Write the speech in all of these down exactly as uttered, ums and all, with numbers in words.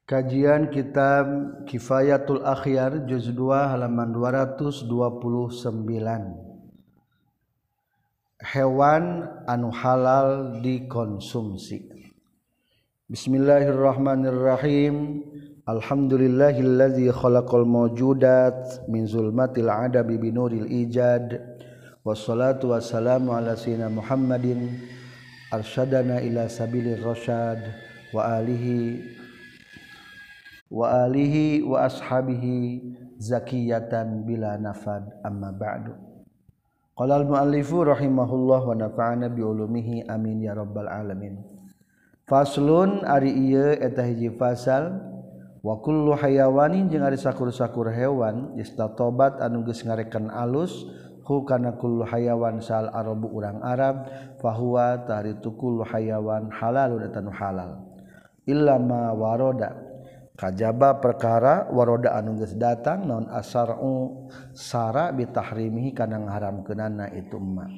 Kajian kitab Kifayatul Akhyar juz dua halaman dua ratus dua puluh sembilan. Hewan anu halal dikonsumsi. Bismillahirrahmanirrahim. Alhamdulillahillazi khalaqal mawjudat min zulmatil adabi binuril ijad. Wassalatu wassalamu ala sayyidina Muhammadin arsyadana ila sabilir rasyad wa alihi wa alihi wa ashabihi zakiyatan bila nafad amma ba'du. Qala al-muallifu rahimahullah wa nafa'ana bi ulumihi amin ya rabbal alamin. Faslun ari ieu eta hiji fasal wa kullu hayawanin jeung ari sakur-sakur hewan istatobat anu geus ngarekan alus hu kana kullu hayawan sal arabu urang Arab fahuwa taritu kullu hayawan halalun eta nu halal illa ma waroda kajaba perkara waroda anu geus datang naon asar'u sara bitahrimihi kana ngaharamkeunana itu emak.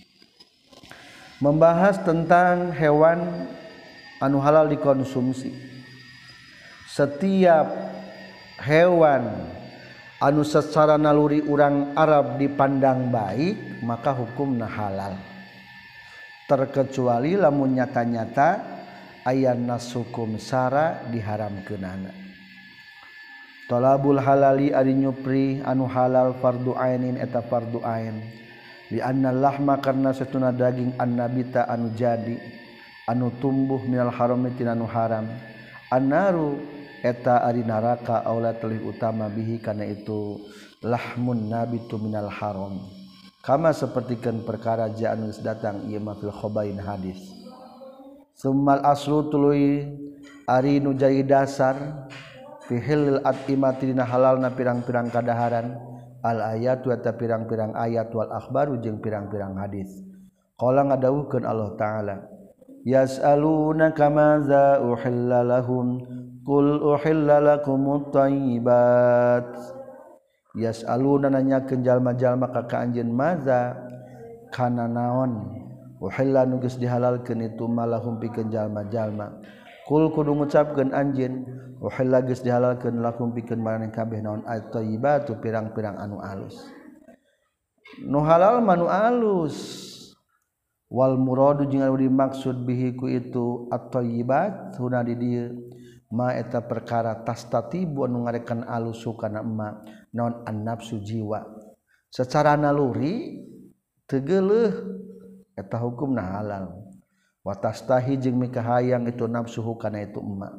Membahas tentang hewan anu halal dikonsumsi. Setiap hewan anu secara naluri urang Arab dipandang baik maka hukumna halal, terkecuali lamun nyata-nyata aya nas hukum sara diharamkeunana. Talabul halali ari nyupri anu halal fardu ainin eta fardu ain li anna lahma karna satuna daging annabita anu jadi anu tumbuh minal harami tina anu haram annaru eta ari neraka aula telih utama bihi kana itu lahmun nabitu minal haram kama sapertikeun perkara ja anu datang ieu mah fil khabain hadis. Summal aslu tuluy ari nu jadi dasar fi hilil atimati dina halalna pirang-pirang kadaharan al ayat wa ta pirang-pirang ayat wal akhbaru jeung pirang-pirang hadis. Qala ngadawuhkeun Allah taala yas'aluna kama za uhilla lahum qul uhilla lakumut thayyibat. Yas'aluna nanyakeun jalma-jalma ka ka anjeun maza kana naon uhilla nu geus dihalalkeun itu malahum pikeun jalma-jalma. Kul kudu ngucapkeun anjeun uhilla geus dihalalkeun lakum pikeun maraneh kabeh naon at-thayyibatu pirang-pirang anu alus. Nu halal manu alus. Wal muradu jeung anu dimaksud bihi ku itu at-thayyibat huna di dieu ma eta perkara tastatibu anu ngarekan alus kana emma naon an-nafsu jiwa. Secara naluri teu geuleuh eta hukumna halal wa tastahi jeung mikahayang itu nafsuhu kana itu emak.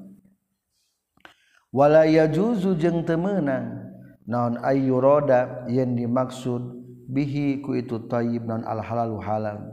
Wala yajuzu jeung teu meunang naon ayyurada yen dimaksud bihi ku itu thayyib naon al halalu halal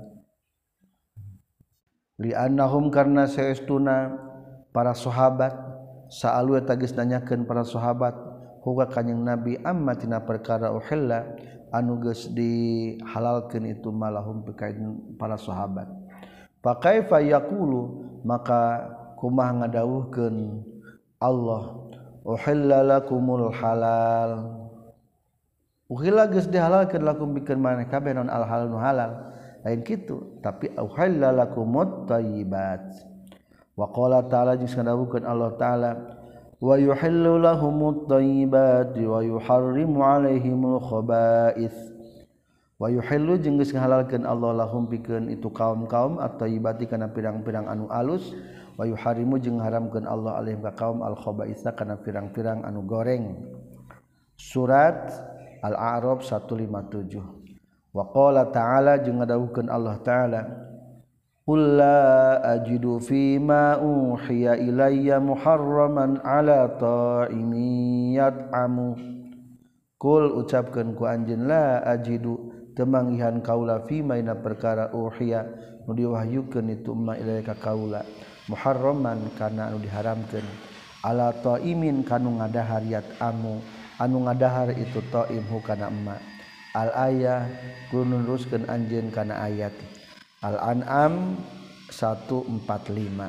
li annahum karna saestuna para sahabat saalu eta geus nanyakeun para sahabat huwa kanjing nabi amma tina perkara uhilla anu geus dihalalkeun itu malahum pikain para sahabat. Fa kaifa yaqulu maka kumaha ngadawuhkeun Allah uhilla lakumul halal uhilla geus dihalalkeun lakum pikeun maneh kabeh naon al halal nu halal lain kitu tapi uhilla lakumut thayyibat. Wa qala ta'ala jeung ngadawuhkeun Allah taala wa yuhillu lahumut thayyibati wa yuharrimu 'alaihimul khaba'its wa yuhillu jeung geus ngahalalkeun Allah lahum pikeun itu kaum-kaum at-thayyibati kana pirang-pirang anu alus wa yuharrimu jeung ngaharamkeun Allah alaihim ka kaum al-khaba'itsa kana pirang-pirang anu goreng. Surat Al-A'raf seratus lima puluh tujuh. Wa qala ta'ala jeung ngadawuhkeun Allah taala qul la ajidu fima uhiya ilayya muharraman ala ta'imin yat'amu. Qul ucapkeun ku anjeun la ajidu teu manggihan kaula fima ina perkara uhiya nu diwahyukeun itu ma ilayya ka kaula muharraman kana anu diharamkeun ala ta'imin kanu ngadahar yat'amu anu ngadahar itu ta'im hu kana emma. Al ayah kudu nuruskeun anjeun kana ayat Al-An'am seratus empat puluh lima.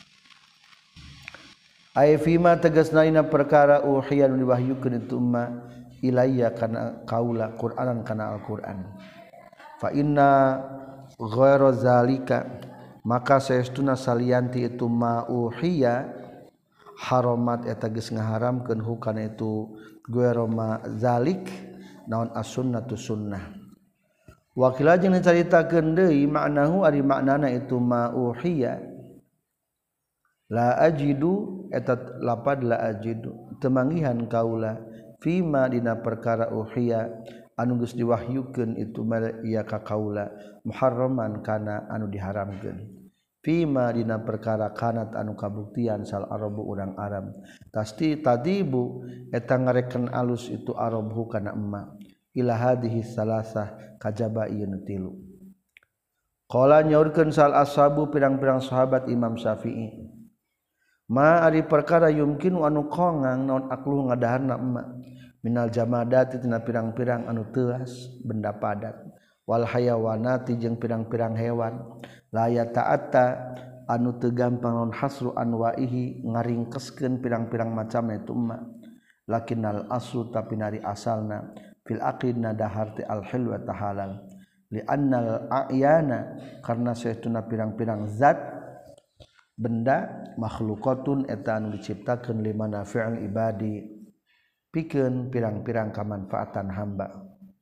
Ai fima tegasna ina perkara uhiya nu diwahyukeun itu ma ilayya kana kaula Qur'anan kana Al-Qur'an. Fa inna ghairu zalika maka saestuna salianti itu ma uhiya haramat eta geus ngaharamkeun hu kana itu gueroma zalik naon as-sunnatu sunnah. Wakil jeung dicaritakeun deui maknahu ari maknana itu ma uhiya la ajidu eta lapad la ajidu temanggihan kaula fima dina perkara uhiya anu geus diwahyukeun itu ieu ka kaula muharraman kana anu diharamkeun fima dina perkara kanat anu kabuktian sal arabu urang Arab tasti tadibu eta ngareken alus itu arabu kana emma ila hadhihi salasah kajaba ieu tilu. Qala nyaurkeun sal ashabu pirang-pirang sahabat Imam Syafi'i ma ari perkara yumkin anu kongang naon aklu ngadaharna emma minal jamadati tina pirang-pirang anu teuas benda padat wal hayawanati jeung pirang-pirang hewan la yata'atta anu teu gampang naon hasru anwaihi ngaringkeskeun pirang-pirang macam itu emma lakinnal aslu tapi nari asalna fil aqidna dahar ti al hilwa tahalal li annal a'yana karna saestuna pirang-pirang zat benda makhlukatun eta anu diciptakeun limana fi'il ibadi pikeun pirang-pirang kamanfaatan hamba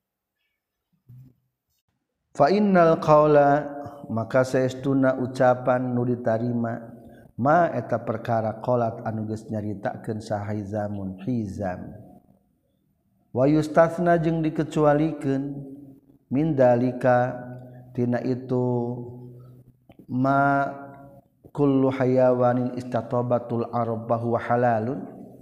fa innal qaula maka saestuna ucapan nu ditarima ma eta perkara qalat anu geus nyaritakeun sahaizamun hizam wa yustatsna jeung dikecualikeun min dalika tina itu ma kullu hayawanin istatabatul arab bahwa halalun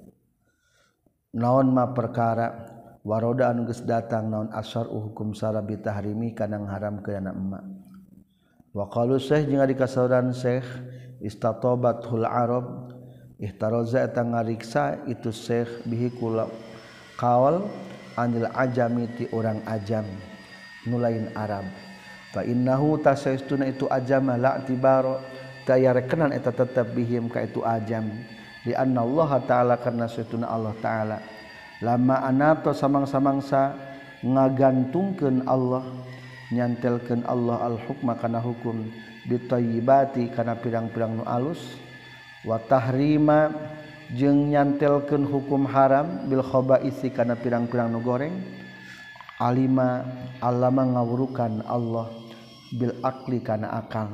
naon ma perkara waroda anu geus datang naon asyar hukum sarabi tahrimi kana ngaharamkeun emma wa qalu syekh jeung ari kasauran syekh istatabatul arab ihtaraza eta ngariksa itu syekh bihi kula qaul anil ajami ti orang ajam nu lain Arab fa innahu tasaistuna itu ajama la tibaro taya rekenan eta tetep bihim ka itu ajam li anna Allah taala karna saestuna Allah taala lama anato samang-samangsa ngagantungkeun Allah nyantelkeun Allah al hukma kana hukum bitayyibati kana pirang-pirang nu alus wa tahrima jeung nyantelkeun hukum haram bil khaba'isi kana pirang-pirang nu goreng alima allama ngawurukan Allah bil akli kana akal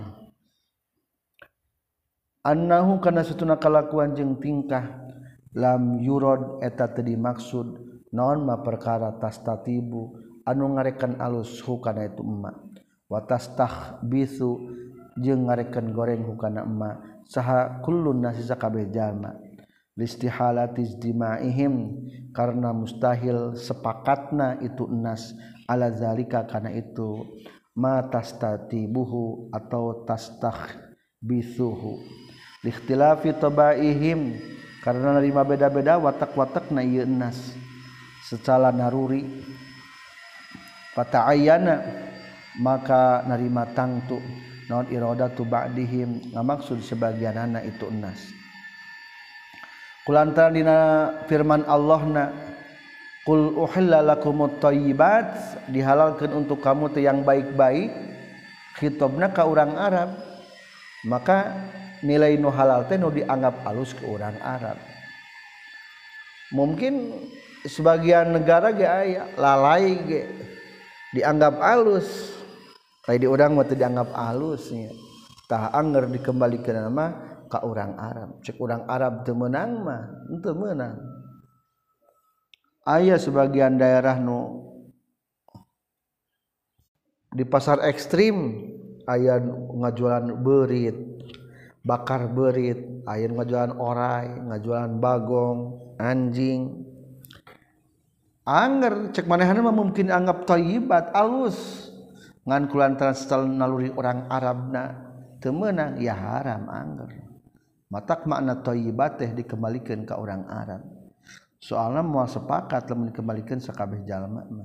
annahu kana satuna kalakuan jeung tingkah lam yurad eta teu dimaksud naon ma perkara tastatibu anu ngarekan alus hukana itu emma wa tastahbisu jeung ngarekan goreng hukana emma saha kullun nasi sakabeh jalma listihalati ijtima'ihim karena mustahil sepakatna itu enas ala zalika kana itu ma tastatibuhu atau tastahbisuhu likhtilafi tabaihim karena nerima beda-beda watak-watakna ieu enas secara naruri fata'ayyana maka narima tangtu naon iradatu ba'dihim ngamaksud sebagianana itu enas kulantaran dina firman Allahna qul uhilla lakumut thayyibat dihalalkeun untuk kamu teh yang baik-baik khitabna ka urang Arab maka nilai nu halal teh nu dianggap alus ke urang Arab mungkin sebagian negara ge aya lalai ge dianggap alus lain di urang mah teu dianggap alus nya tah anger dikembalikeun mah ka urang Arab cek urang Arab teu meunang mah henteu meunang aya sebagian daerah nu di pasar ekstrim aya ngajualan beurit bakar beurit aya ngajualan orai ngajualan bagong anjing anger cek manehna mah mungkin anggap thayyibat alus ngan kulantaran setel naluri orang Arabna teu meunang ya haram anger matak makna thayyibat teh dikembalikan ke orang Arab soalna moal sepakat lamun dikembalikan sakabeh jalma mah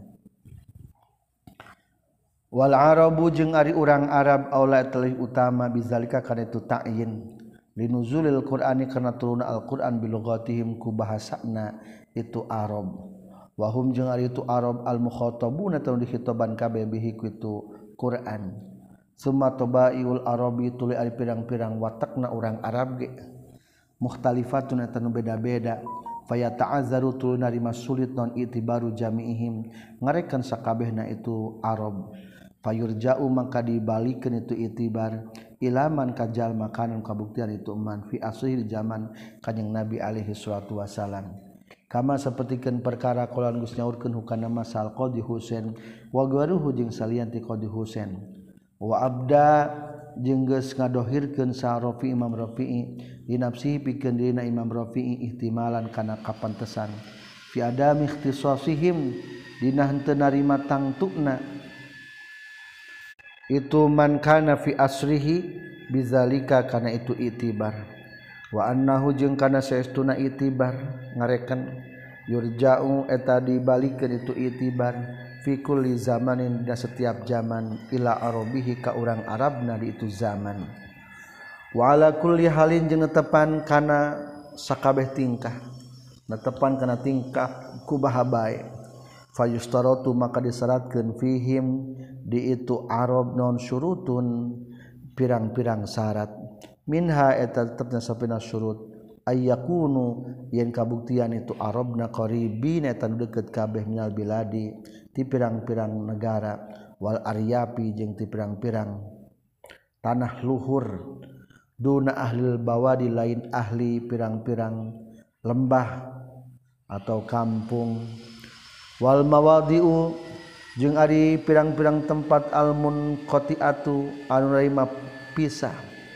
wal arabu jeung ari urang Arab aula teuing utama bizalika kana itu ta'yin linuzulil qur'ani kana turunna al-Qur'an bilughatihim ku bahasana itu Arab wa hum jeung ari itu Arab al mukhatabuna tanu dikhitoban kabeh bihi ku itu Qur'an summa tabaiul arabi tuluy ari pirang-pirang watakna urang Arab ge mukhtalifatun eta nu beda-beda faya ta'azzaru tu narima sulit non itibaru jami'ihim ngarekan sakabehna itu Arab fayurja'u maka dibalikeun itu itibar ilaman kajal makanan kabuktian itu man fi asri di zaman kanjing Nabi alaihi salatu wasalam kama sapertikeun perkara qolan geus nyaurkeun hukana masal qadi Husain wa garuhu jeung salianti qadi Husain wa abda jeung geus ngadohirkeun sa Rafi Imam Rafi'i di nafsihi pikeun dina Imam Rafi'i ihtimalan kana kapantesan fi adami ikhtisasihim dina henteu narima tangtukna itu man kana fi asrihi bizalika kana itu itibar wa annahu jeung kana saestuna itibar ngarekan yurja'u eta dibalikeun itu itibar fi kulli zamanin da setiap zaman ila arabihi ka urang Arabna di itu zaman wa ala kulli halin jeung netepan kana sakabeh tingkah netepan kana tingkah kubaha bae fayustaratu maka disyaratkeun fihim di itu Arab non syurutun pirang-pirang syarat minha eta tetepna sapina syurut ayyakunu yen kabuktian itu Arabna qaribin eta deukeut kabeh minal biladi ti pirang-pirang negara wal aryapi jeung ti pirang-pirang tanah luhur duna ahlil bawadi lain ahli pirang-pirang lembah atau kampung wal mawadi'u jeung ari pirang-pirang tempat al-munqati'atu anu raima pisah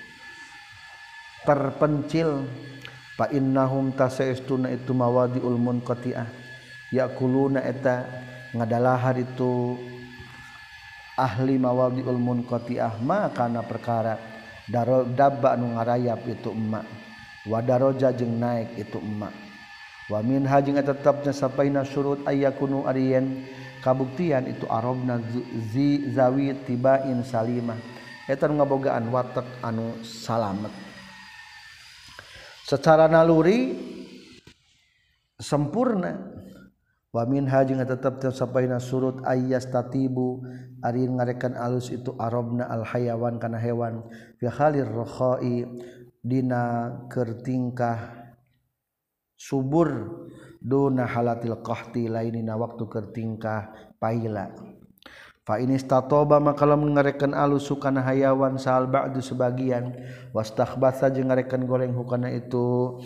terpencil fa innahum tasaistuna itu mawadi'ul munqati'ah yakuluna eta ngadalahar itu ahli mawadi'ul munqati'ah ma kana perkara daro dabba anu ngarayap itu emak wa daraja jeung naik itu emak wa min hajing eta tetepna sapaina syurut ayyakunu ariyen kabuktian itu Arabna zi zawi tibain salimah eta ngabogaan watak anu salamet secara naluri sempurna wa min hajing tetep sapaina surut ayyastatibu ari ngarekan alus itu Arabna al hayawan kana hewan fi halir rakhai dina keur tingkah subur duna halatil qahti lainina waktu keur tingkah paila fa in istatoba maka lamun ngarekan alus kana hayawan sal ba'du sebagian wastakhbatha jeung ngarekan goreng hukana itu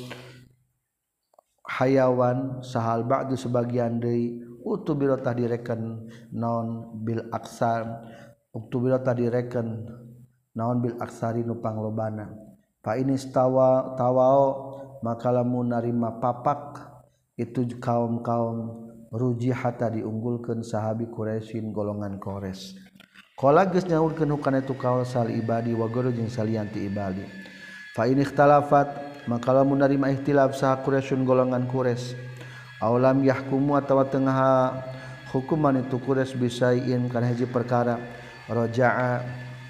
hayawan sahal ba'du sebagian deui utubira tah direken naon bil aksar utubira tah direken naon bil aksari nu panglobana fa in istawa tawao maka lamun narima papak itu kaum-kaum rujihata diunggulkeun sahabi Quraisyin golongan Quraisy qala geus nyaurkeun hukana itu kaul sal ibadi wa guru jeung salianti ibadi fa in ikhtalafat maka lamun narima ikhtilaf saha Quraisyun golongan Quraisy aw lam yahkumu atawa tengah hukuman itu Quraisy bisaiin kana hiji perkara raja'a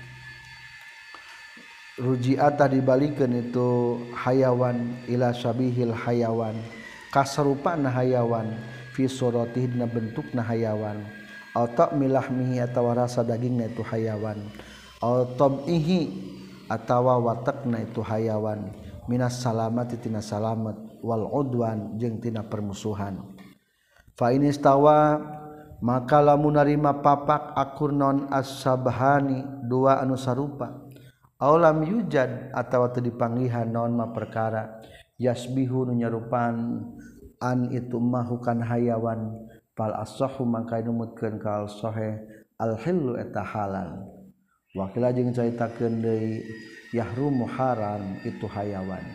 ruji'atah dibalikeun itu hayawan ila syabihil hayawan kasarupana hayawan fi suratihi dina bentukna hayawan aw ta'milahmihi atawa rasa dagingna itu hayawan aw tab'ihi atawa watakna itu hayawan minas salamati tina salamet wal udwan jeung tina permusuhan fa in istawa maka lamun narima papak akur non as-sabhani dua anu sarupa aw lam yujad atawa teu dipanggihan naon ma perkara yasbihu nu nyarupan an itu mahukan hayawan fal as-sahhu maka numutkeun ka al-sahih al-hillu eta halal wakila jeung caritakeun deui yahrumu haram itu hayawan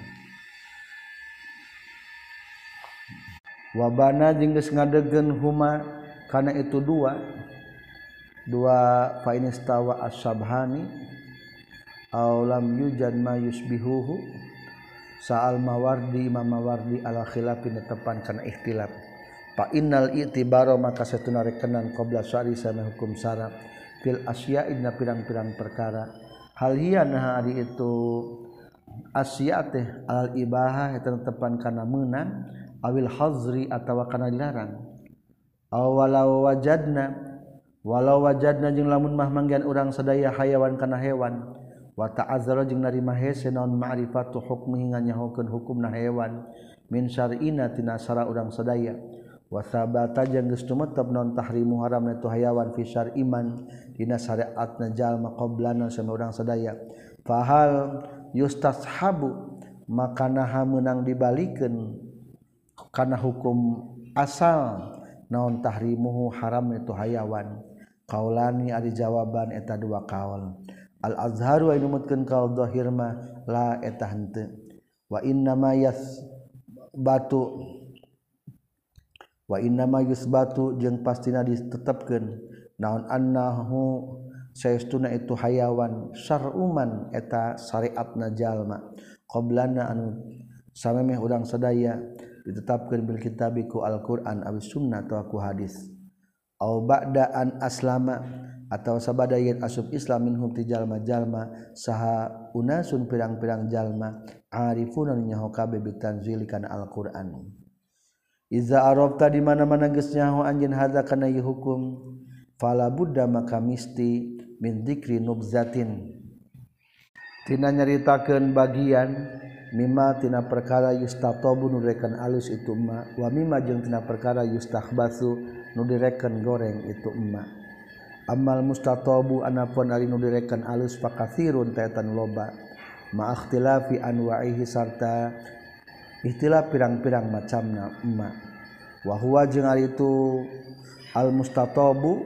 wabana jeung geus ngadegeun huma kana itu dua dua fa in istawa as-sabhani aw lam yujad ma yusbihuhu sa'al mawardi Imam Mawardi ala khilafin tepan kana ikhtilaf fa innal i'tibara maka satuna rekenan qabla syari sana hukum syara fil asya'i na pirang-pirang perkara hal hiya nah ari itu asya' teh al ibahah eta tepan kana meunang awil hazri atawa kana dilarang aw walau wajadna walau wajadna jeung lamun mah manggian urang sadaya hayawan kana hewan wa ta'azzara jeung narima hese naon ma'rifatu hukmi nganyahokeun hukumna hewan min syar'ina tina syara urang sadaya wa sabata jeung geus tumetep naon tahrimu haramna tu hayawan fi syar'iman dina syariatna jalma qablana sama urang sadaya fahal yustashabu maka naha meunang dibalikeun kana hukum asal naon tahrimuhu haramna tu hayawan qaulani ari jawaban eta dua kaul al azharu anu mutkeun kaul zahir mah la eta henteu wa inna ma yasbatu wa inna ma yusbatu jeung pastina ditetepkeun naon annahu saestuna itu hayawan syar'uman eta syariatna jalma qablana anu samemeh urang sadaya ditetapkeun bil kitabiku Al-Qur'an aw sunnah atau aku hadis au ba'da an aslama atau sabada yen asub Islam minhum ti jalma-jalma saha unasun pirang-pirang jalma arifuna nyaho kabeh bitanzil kana Al-Qur'an iza arabta di mana-mana geus nyaho anjeun hadza kana ieu hukum fala budda maka misti min dzikri nubzatin tina nyaritakeun bagian mimma tina perkara yustatabu nu direken alus itu emma wa mimma jeung tina perkara yustahbatsu nu direken goreng itu emma amal mustatabu anapun ari nu direken alus fakatsirun tatan loba ma ikhtilafi anwa'ihi sarta ikhtilaf pirang-pirang macamna emma wa huwa jeung ari itu al mustatabu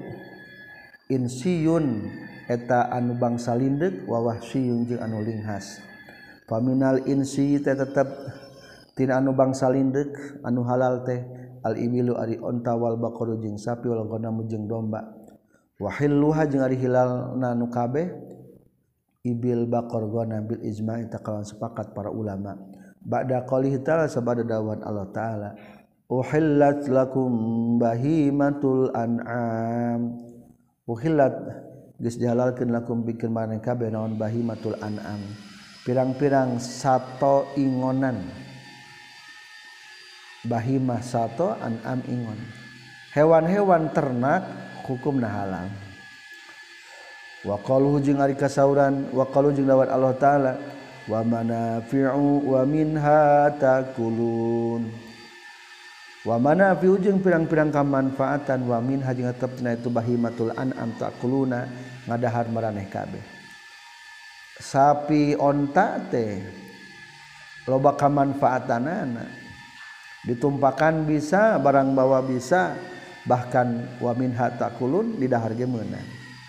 insiyun eta anu bangsa lindeuk wa wahsiyun jeung anu linghas faminal insi teh tetep tina anu bangsa lindeuk anu halal teh al ibilu ari onta wal baqaru jeung sapi wal ghanam jeung domba wa hilluha jeung ari hilalna nu kabeh ibil baqar ghanam bil ijma' takawan sepakat para ulama ba'da qoulih ta'ala sabada dawan Allah taala uhillat lakum bahimatul an'am uhillat geus dihalalkeun lakum pikeun maneh kabeh naon bahimatul an'am pirang-pirang sato ingonan bahimah sato an'am ingon hewan-hewan ternak hukumna halal wa qaluhu jeung ari kasauran wa qalu jeung dawat Allah taala wa manafi'u wa minha takulun wa manafi'u jeung pirang-pirang kamanfaatan wa minha jeung tetepna itu bahimatul an'am takuluna ngadahar maraneh kabeh sapi onta teh loba kamanfaatanana ditumpakan bisa barang bawa bisa bahkan wa minha takulun didahar ge meunang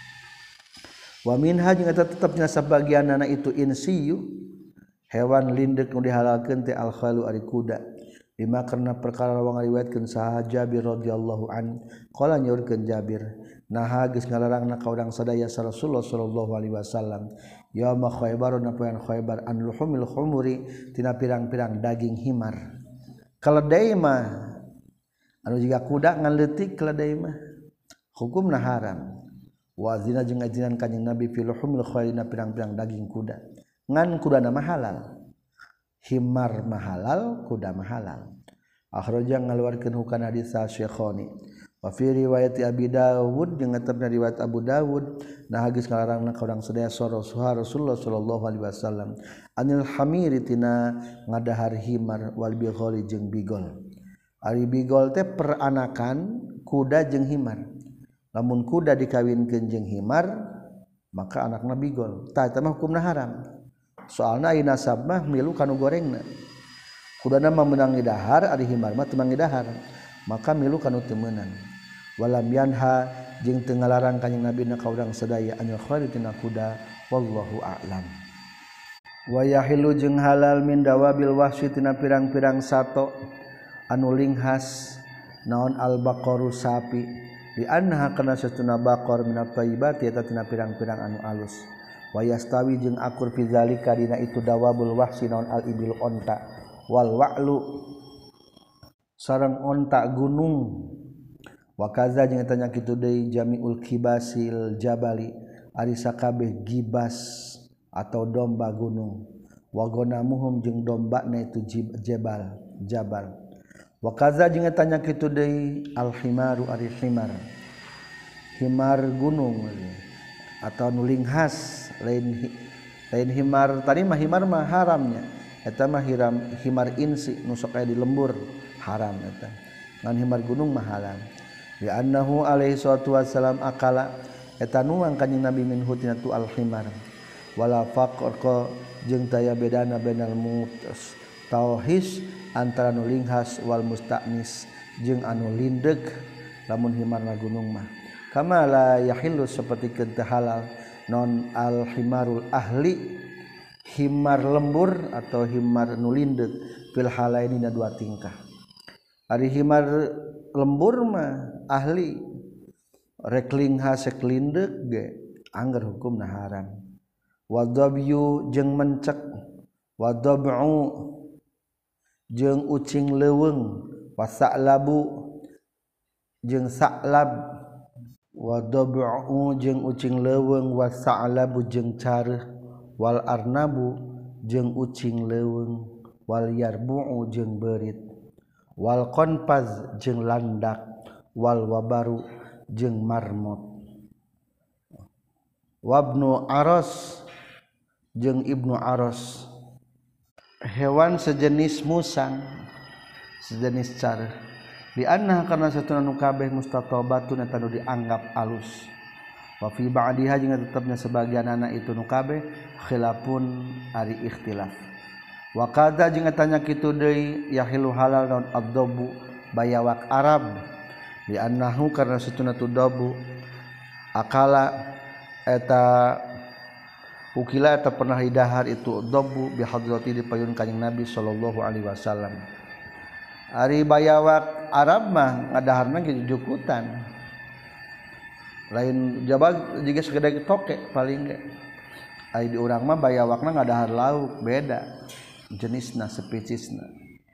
wa minha jeung eta tetepna sabagianna itu insiyu hewan lindeuk nu dihalalkeun teh al khalu ari kuda lima karena perkara wang riwayatkeun saha Jabir radhiyallahu an qala nyaurkeun Jabir naha geus ngalarangna ka urang sadaya Rasulullah sallallahu alaihi wasallam yauma Khaybar napoean Khaybar an luhumil khumuri tina pirang-pirang daging himar keledai mah anu jiga kuda ngan leutik keledai mah hukumna haram wa zina jeung ajinan kanjing Nabi fi luhumil khayna pirang-pirang daging kuda ngan kudana mah halal himar mah halal kuda mah halal akhraja ngaluarkeun hukana hadis Syekhoni wa fi riwayat Abi Dawud jeung tetepna riwayat Abu Dawud nah geus ngalarangna ka urang sadaya Rasulullah sallallahu alaihi wasallam anil hamiri tina ngadahar himar wal bighali jeung bigol ari bigol teh peranakan kuda jeung himar lamun kuda dikawinkeun jeung himar maka anakna bigol tah eta mah hukumna haram soalna aya nasab mah milu kanu gorengna kudana mah meunang ngidahar ari himar mah teu ngidahar maka milu kanu teu meunang walam yanha jeung teu ngalarang kanjing Nabi na ka urang sadaya anil khalitina kuda wallahu a'lam wa yahilu jeung halal min dawabil wahsy tina pirang-pirang sato anu linghas naon al baqaru sapi di anha kana satuna baqar min at-tayyibati eta tina pirang-pirang anu alus wa yastawi jeung akur fi zalika dina itu dawabul wahsy naon al ibil onta wal wa'lu sareng onta gunung wa kaza jeung eta nya kitu deui jami'ul kibasil jabali ari sakabeh gibas atau domba gunung wa gonamuhum jeung dombana itu jabal jabal wa kaza jeung eta nya kitu deui al himaru ari himar himar gunung atau nu linghas lain lain himar tadi mah himar mah haramnya eta mah hiram himar insi nu sok aya di lembur haram eta ngan himar gunung mah halal bi annahu alaihi salatu wassalam akala eta nuang kanjing Nabi min hutina tu al himar wala faqqa jeung taya bedana bainal mutas tauhis antara nu linghas wal musta'nis jeung anu lindeg lamun himarna gunung mah kama la yahillu saperti teu halal non al himarul ahli himar lembur atau himar nu lindeg fil halaini na dua tingkah ari himar lembur mah ahli rek linghas rek lindeg ge angger hukumna haram wadabyu jeung mencek wadab'u jeung ucing leuweung wasa'labu jeung sa'lab wadab'u jeung ucing leuweung wasa'labu jeung careuh wal arnabu jeung ucing leuweung wal yarbu'u jeung beurit wal qanfaz jeung landak wal wabaru jeung marmot wabnu aras jeung ibnu aras hewan sejenis musang sejenis careuh di anna karna satuna nu kabeh mustatabatun eta nu dianggap alus wa fi ba'diha jeung tetepna sebagian anak itu nu kabeh khilafun ari ikhtilaf wa qadza jeung tanya kitu deui yahilu halal naon ad-dabu bayawak Arab di annahu karna satuna tu dabu akala eta ukila eta pernah didahar itu dabu bi hadrati di payun kanjing Nabi sallallahu alaihi wasallam ari bayawak Arab mah ngadaharna ge jujukutan lain jabal juga segede toke paling ge ai di urang mah bayawakna ngadahar lauk beda jenisna spesiesna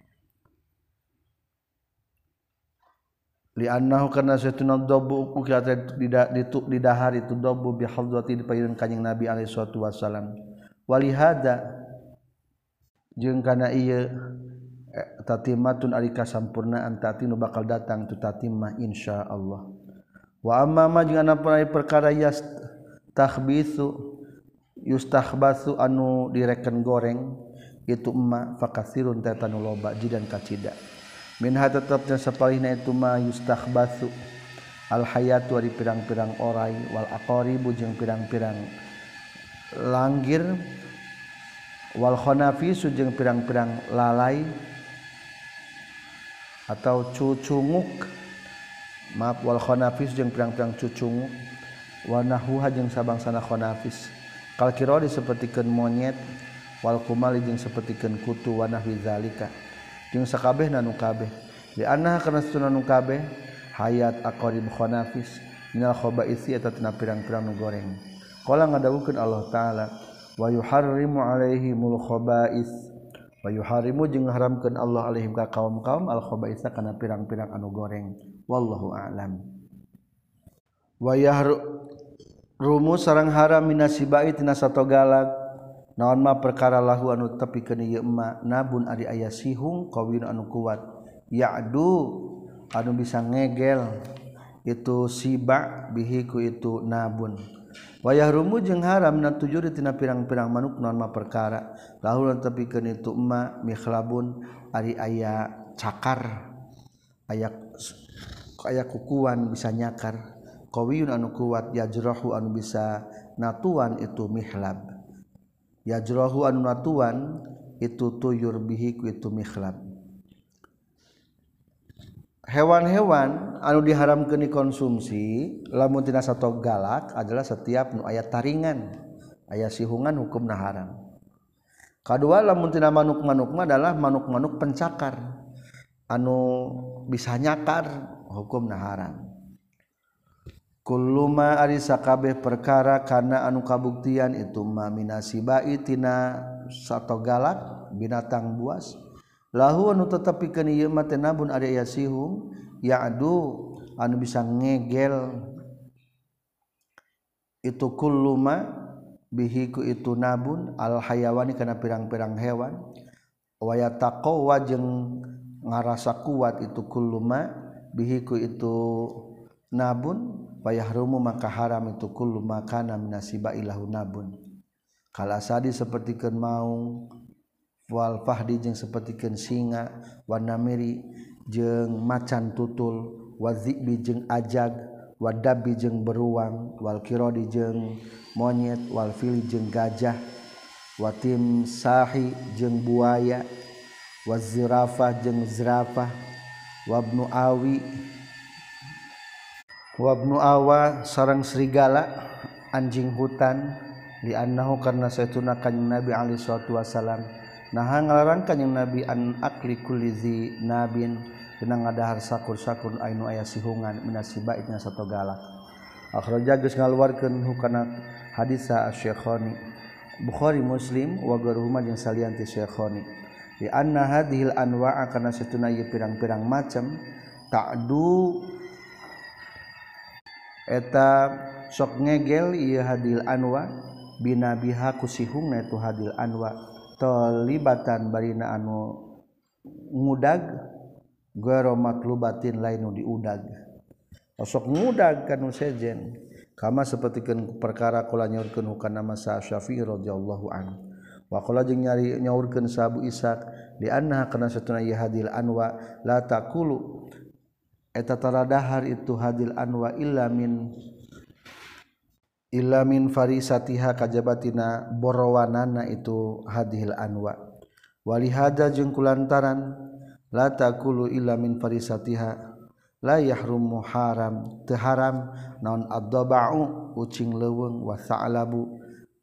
li annahu kana satuna dabu ukila di dahar itu dabu bi hadrati di payun kanjing Nabi alaihi salatu wasallam walihada jeung kana ieu tatimatun ari kasampurnaan tatinu bakal datang tu tatimah insyaallah wa amma ma jeung anapan perkara yas takhbisu yustahbasu anu direken goreng itu emma fakasirun tatanu loba jidan kacida minha tetapnya sapalihna itu ma yustahbasu al hayatu ari pirang-pirang orai wal aqaribu jeung pirang-pirang langgir wal khanafisu jeung pirang-pirang lalai atau cucunguk maaf wal khonafis jeung pirang-pirang cucunguk wa nahuha jeung sabangsana khonafis kal kirodi sapertikeun monyet wal kumali jeung sapertikeun kutu wa nahwi zalika jeung sakabehna nu kabeh di anna kana satuna nu kabeh hayat aqrib khonafis minal khabaisi eta tina pirang-pirang nu goreng qala ngadawukeun Allah taala wa yuharrimu alaihimul khabais wa yuharimu jeung haramkeun Allah alaihim ka kaum-kaum al khabaisa kana pirang-pirang anu goreng wallahu a'lam wa yahrumu sareng haram minasibai tina satogalak naon mah perkara lahu anu tepikeun ieu emma nabun ari aya sihung qawin anu kuat ya'du anu bisa ngegel itu siba bihi ku itu nabun wa yahrumu jeung haram na tujuri tina pirang-pirang manuk naon mah perkara lahu tepikeun itu emma mikhlabun ari aya cakar aya aya kukuan bisa nyakar qawiyun anu kuat yajrahu anu bisa natuan itu mihlab yajrahu anu natuan itu tuyur bihi ku itu mihlab hewan-hewan anu diharamkeun dikonsumsi lamun tina sato galak adalah setiap nu aya taringan aya sihungan hukumna haram kadua lamun tina manuk-manuk mah adalah manuk-manuk pencakar anu bisa nyakar hukumna haram kullu ma ari sakabeh perkara kana anu kabuktian itu ma minasibai tina sato galak binatang buas lahu anu tetepikeun ieu mah teh nabun ari aya sihung ya'du anu bisa ngegel itu kullu ma bihi ku itu nabun al hayawani kana pirang-pirang hewan wa yataqwa jeung ngarasa kuat itu kullu ma bihi ku itu nabun fa yahrumu maka haram itu kullu ma kana minasiba ilahu nabun kalasadi sapertikeun maung wal fahdi jeung sapertikeun singa wan namiri jeung macan tutul wazibi jeung ajag wadabi jeung beruang wal kirodi jeung monyet wal fili jeung gajah watim sahi jeung buaya wazirafah jeung zirafah wabnu awi wabnu awa sareng serigala anjing hutan li annahu karna saytuna kanjing Nabi alaihi salatu wasalam nah ngalarang kanjing Nabi an akli kulli zi nabin dina ngadahar sakur-sakur ainu aya sihungan minasibaitna satogala akhraja geus ngaluarkeun hukana hadisa asy-Syekhani Bukhari Muslim wa garuhuma jeung salian ti Syekhani di anna hadhil anwa'a kana satuna ieu pirang-pirang macam ta'du eta sok ngegel ieu hadil anwa binabiha kusihungna itu hadil anwa talibatan barina anu ngudag garo matlubatin lainu diudag sok ngudag kanu sejen kama sapertikeun perkara kula nyaurkeun hukana masa Syafi'i radhiyallahu anhu wa qala jeung nyari nyaurkeun sa Abu Ishaq di anna kana satuna ieu hadil anwa la taqulu eta taradahar itu hadil anwa illa min illa min farisatiha kajabatina borowanana itu hadhil anwa walihada jeung kulantaran la taqulu illa min farisatiha la yahrumu haram teu haram naon ad-daba'u ucing leuweung wa sa'labu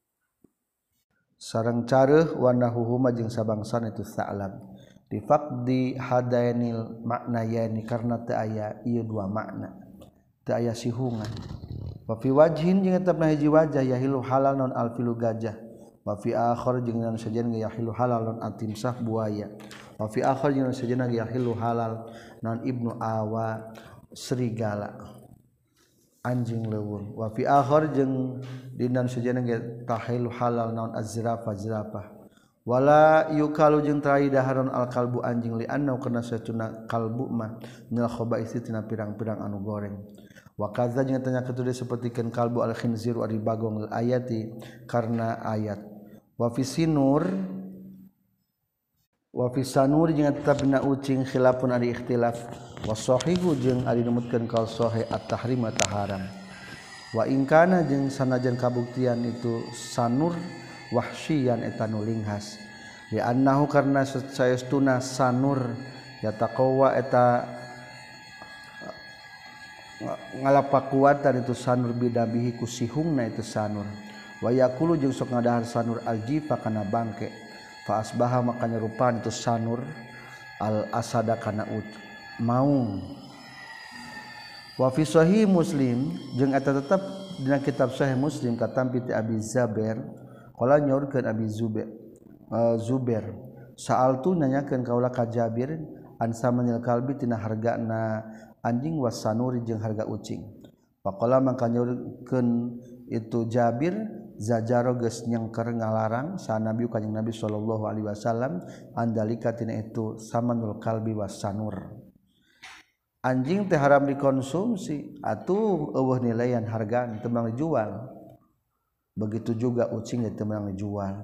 sareng careuh wa nahuhuma jeung sabangsana itu sa'lab di faqdi hadainil maknayani karna teu aya ieu dua makna teu aya sihungan wa fi wajhin jeung eta hiji wajah yahilu halal non alfilu gajah wa fi akhir jeung naon sajen yahilu halal non atimsah buaya wa fi akhir jeung sajen yahilu halal non ibnu awa serigala anjing leuweung wa fi akhir jeung dina sajen tahilu halal non azrafa zrafah wala yukalu jeung trai daharon al kalbu anjing li anna kana satuna kalbu mah minal khaba'isi tina pirang-pirang anu goreng wa kadza jeung tanya ketude sapertikeun kalbu al khinziru ari bagong ayati karna ayat wa fi sinur wa fi sanur jeung tetepna ucing khilafun ari ikhtilaf wa sahihu jeung ari numutkeun kal sahih at-tahrim ta haram wa in kana jeung sanajan kabuktian itu sanur wahsyian eta nu linghas li annahu karna saestuna sanur yataqawa eta ngalapakuatan itu sanur bidabihi kusihungna itu sanur wa yaqulu jeung sok ngadahar sanur aljifa kana bangke fa asbaha maka nyerupan itu sanur al asada kana ut maung wa fi sahih Muslim jeung eta tetep dina kitab sahih Muslim katampi ti Abi Zabair qala nyaurkeun Abi Zubair uh, Zubair sa'altu nanyakeun kaula ka Jabir an samanil kalbi tina hargana anjing wasanuri jeung harga ucing faqala maka nyaurkeun itu Jabir zajaro geus nyengker ngalarang sa Nabi kanjing Nabi sallallahu alaihi wasallam andalika tina itu samanul kalbi wasanur anjing teh haram dikonsumsi atuh eueuh nilaian hargaan teu meunang dijual begitu juga ucing itu memang dijual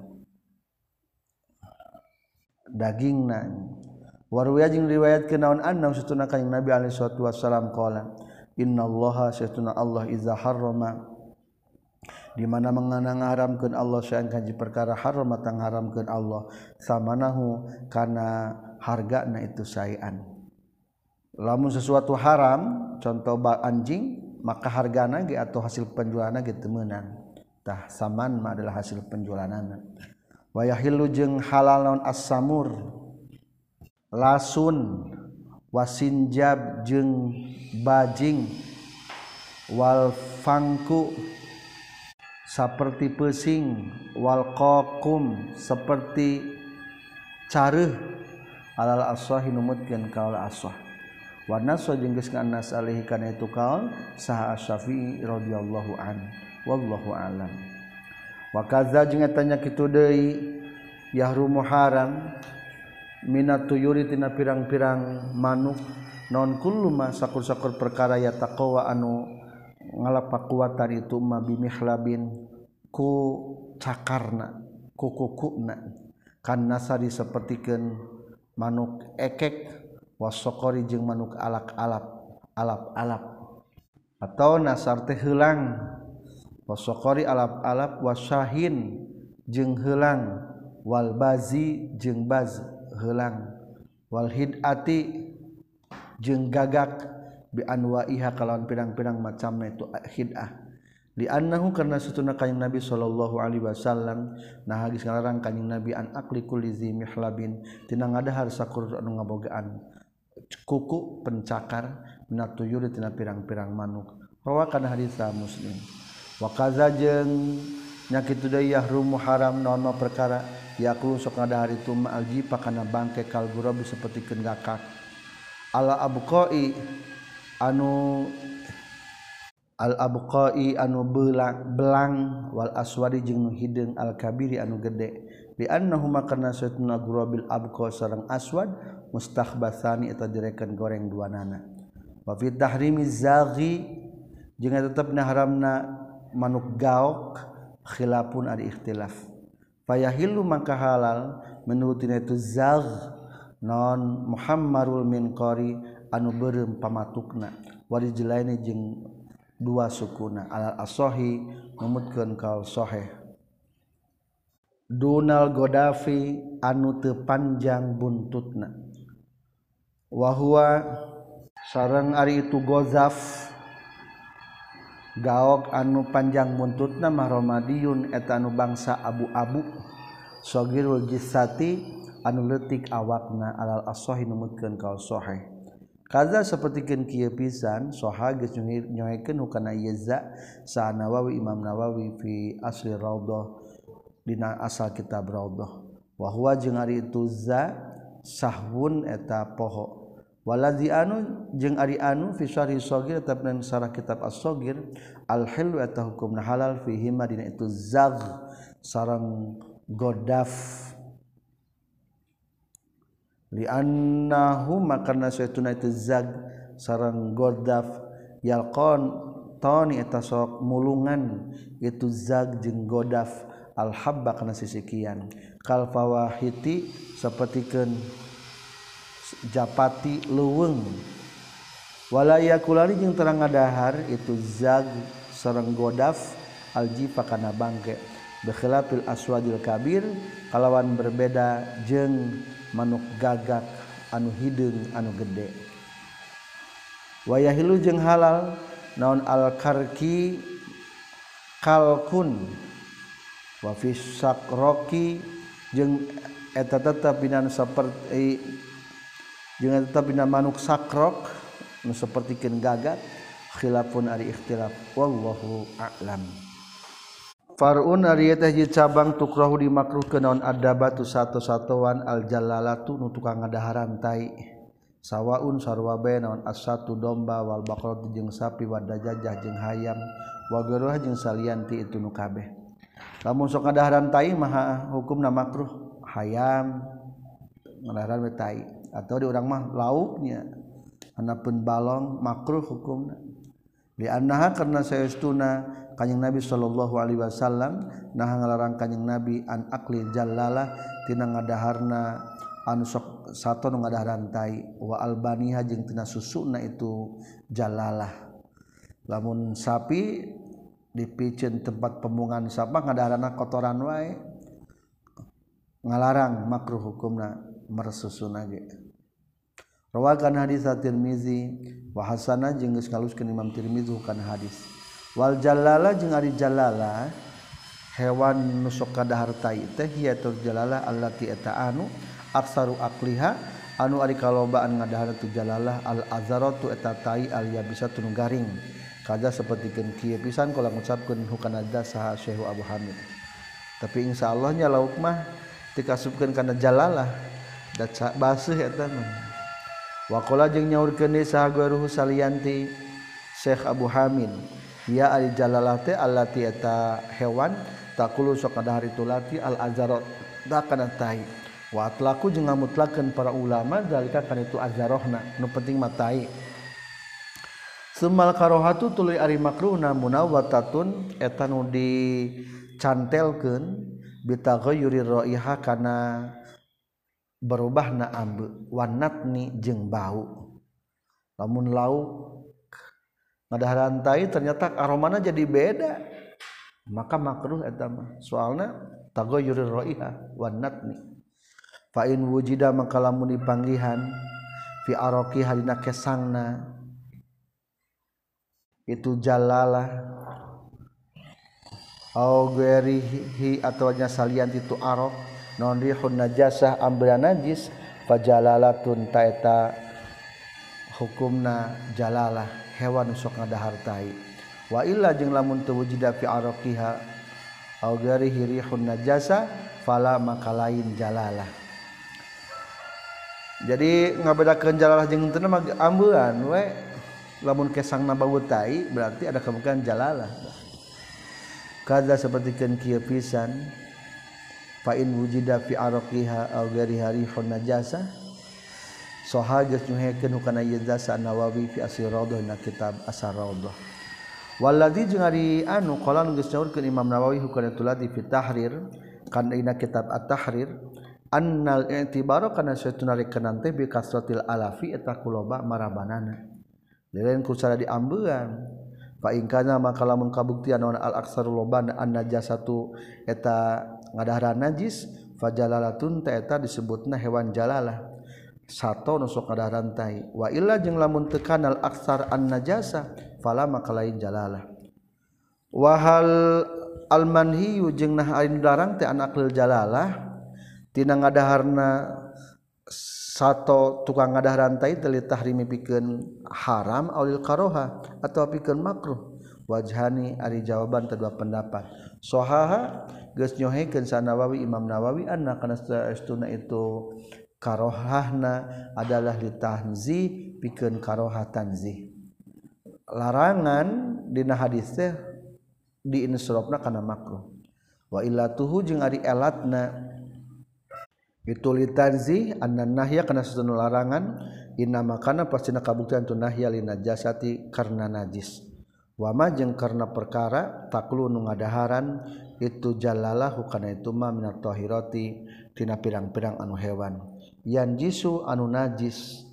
dagingna warwiya jeung riwayatkeun naon anna satuna kanjing Nabi alaihi salatu wasallam qala innallaha satuna Allah iza harrama di mana menganang haramkeun Allah saean kanji perkara haram tang haramkeun Allah samanahu kana hargana itu saean lamun sesuatu haram contoh anjing maka hargana ge atau hasil penjualanna ge teu meunang tah saman mah adalah hasil penjualanana wa yahillu jeung halal naon as-samur lasun wasinjab jeung bajing wal fangku saperti pesing wal qaqum seperti careuh alal aswahi numutkeun kaul aswah wa naswa jeung geus nganas alaihi kana itu kaul saha Asy-Syafi'i radhiyallahu anhu wallahu alam wa kadza jeung eta nya kitu deui yahrumu haram minat tuyuri tina pirang-pirang manuk non kullu ma sakur-sakur perkara ya taqwa anu ngalapakuatan itu ma bimihlabin ku cakarna kukukuna kan nasari sapertikeun manuk ekek wasokori jeung manuk alak-alap alap-alap atau nasar teh heulang wasokori alap-alap wasyahin jeung heulang wal bazi jeung baz heulang wal hidati jeung gagak bi anwaiha kalawan pirang-pirang macamna itu hidah li annahu karna satuna kanjing Nabi sallallahu alaihi wasallam nah geus ngalarang kanjing Nabi an akli kulli zi mihlabin tina ngadahar sakur anu ngabogaan kuku pencakar minat tuyur tina pirang-pirang manuk rawa kana hadis Muslim wa kaza jeung nya kitu deui yahrumu haram naon perkara yakulu sok ngadahar itu ma'alji pakana bangke kal gurabi sapertikeun gakak ala abqai anu al abqai anu belang belang wal aswadi jeung nu hideung al kabiri anu gede li annahuma karna satuna gurabil abqa sareng aswad mustakhbatsani eta direken goreng duanana wa fi tahrimiz zaghi jeung tetepna haramna manuk gaok khilafun ada ikhtilaf fayahillu maka halal menurut itu zagh non muhammarul minqari anu beureum pamatukna warijlaini jeung dua sukuna alal asohi numutkeun kaul sahih dunal godafi anu teu panjang buntutna wa huwa sareng ari itu gozaf gaok anu panjang buntutna mahromadiyun eta anu bangsa abu-abu sogirul jissati anu leutik awakna alal asohi numutkeun kaul sahih kaza sapertikeun kieu pisan soha geus nyoekeun hukana yeza sa Nawawi Imam Nawawi fi asli raudhah dina asal kitab raudhah wa huwa jeung ari itu za sahwun eta poho waladzi anu jeung ari anu fi syarhi shagir tetepna sarah kitab as-shagir al hilu eta hukumna halal fihi madina itu zagh sareng godaf li annahu makarna saytuna itu zag sareng godaf yalqon tani eta sok mulungan itu zag jeung godaf al habba kana sisikian kal fawahiti sapertikeun japati leuweung wala yakulani jeung terang ngadahar itu zag sareng godaf aljifa kana bangke bikhilafil aswadil kabir kalawan berbeda jeung manuk gagak anu hideung anu gede wayahilu jeung halal naon al karki kalkun wa fi sakroki jeung eta tetep dina saperti jeung tetep dina manuk sakrok nu sapertikeun gagak khilafun ari ikhtilaf wallahu a'lam farun ari teh ji cabang tukrahu dimakruhkeun naon adabatu satu-satuan al jalalatu nu tukang ngadaharan tai sawaun sarua bae naon asatu domba wal baqaratu jeung sapi wa dajajah jeung hayam wa garuha jeung salianti itu nu kabeh lamun sok ngadaharan tai mah hukumna makruh hayam ngadaharan tai atau di urang mah lauknya anapeun balong makruh hukumna li annaha karna saestuna kanjing Nabi sallallahu alaihi wasallam nah ngalarang kanjing Nabi an akli jallalah tina ngadaharna anu sok sato nu ngadaharan tai wa albaniha jeung tina susuna itu jallalah lamun sapi dipiceun tempat pembuangan sampah ngadaharanna kotoran wae ngalarang makruh hukumna mersusuna ge rawakan hadis at-Tirmizi wa hasana jeung geus ngaluskeun Imam Tirmizi kana hadis wal jalala jeung ari jalala hewan nu sok kadahar tai teh hiatul jalala allati eta anu aksaru akliha anu ari kalobaan ngadahar tu jalalah al azaratu eta tai al yabisatu nu garing kaja sapertikeun kieu pisan kula ngucapkeun hukana saha Syekh Abu Hamid tapi insyaallah nya lauk mah dikasupkeun kana jalalah da baseuh eta mah wa qala jeung nyaurkeun deui saha guruh salianti Syekh Abu Hamid ya al jalalah teh allati eta hewan taqulu sok kadahar itu lati al azarat da kana tai wa atlaqu jeung ngamutlakeun para ulama zalika kana itu azarohna nu penting mah tai Semal karohatu tuluy ari makruhna munawwatatun eta nu dicantelkeun bitaghayyuri raiha kana berubahna ambe wanatni jeung bau. Lamun lauk ngadaharan tai ternyata aromana jadi beda, maka makruh eta mah. Soalna taghayyuri raiha wanatni. Fa in wujida maka lamun dipanggihan fi araqi halina kesangna itu jalalah au ghairihi atau nya salian itu araq non rihun najasah ambeuna najis fajalalatun taeta hukumna jalalah hewan sok ngadahar tai wa illa jeung lamun teu wujida fi araqiha au ghairihi rihun najasah fala maka lain jalalah. Jadi ngabedakeun jalalah jeung teu mah ambeun we. Lamun kesangna bau tai berarti ada kemungkinan jalalah. Kada sapertikeun kieu pisan fa in wujida fi araqiha aw ghairi harihun najasa saha geus nyuhekeun hukana Yazasa Nawawi fi Asy-Raudhah na kitab Asy-Raudhah. Walladzi jeung ari anu qala geus nyaurkeun Imam Nawawi hukana tuladi fi tahrir kana dina kitab At-Tahrir annal i'tibara kana satuna rekenan teh bi kasratil alafi eta kuloba marabanana. Lain kusara diambean fa in kana maka lamun kabuktian naon al aksarul loban an najasatu eta ngadaharan najis fajalalatun ta eta disebutna hewan jalalah sato nu sok ngadaharan tai wa illa jeung lamun teu kana al aksar an najasa fala maka lain jalalah wa hal al manhiyu jeung nah anu dilarang teh an aqlil jalalah tina ngadaharna sato tukang ngadaharan tai teu tahrimi pikeun haram aulil karoha atau pikeun makruh wajhani ari jawaban kedua pendapat sahaha geus nyohekeun sa Nawawi Imam Nawawi anna kana saestuna itu karohahna adalah litahzi pikeun karoha tanzih larangan dina hadis teh diinsrofna kana makruh wa illatuhu jeung ari elatna itu litanzi anna nahya kana satuna larangan inna makana pastina kabuktian tu nahya lin najasati karna najis wa ma jeung karna perkara taklu nu ngadaharan itu jalalahu kana itu ma minat tahirati tina pirang-pirang anu hewan yan jisu anu najis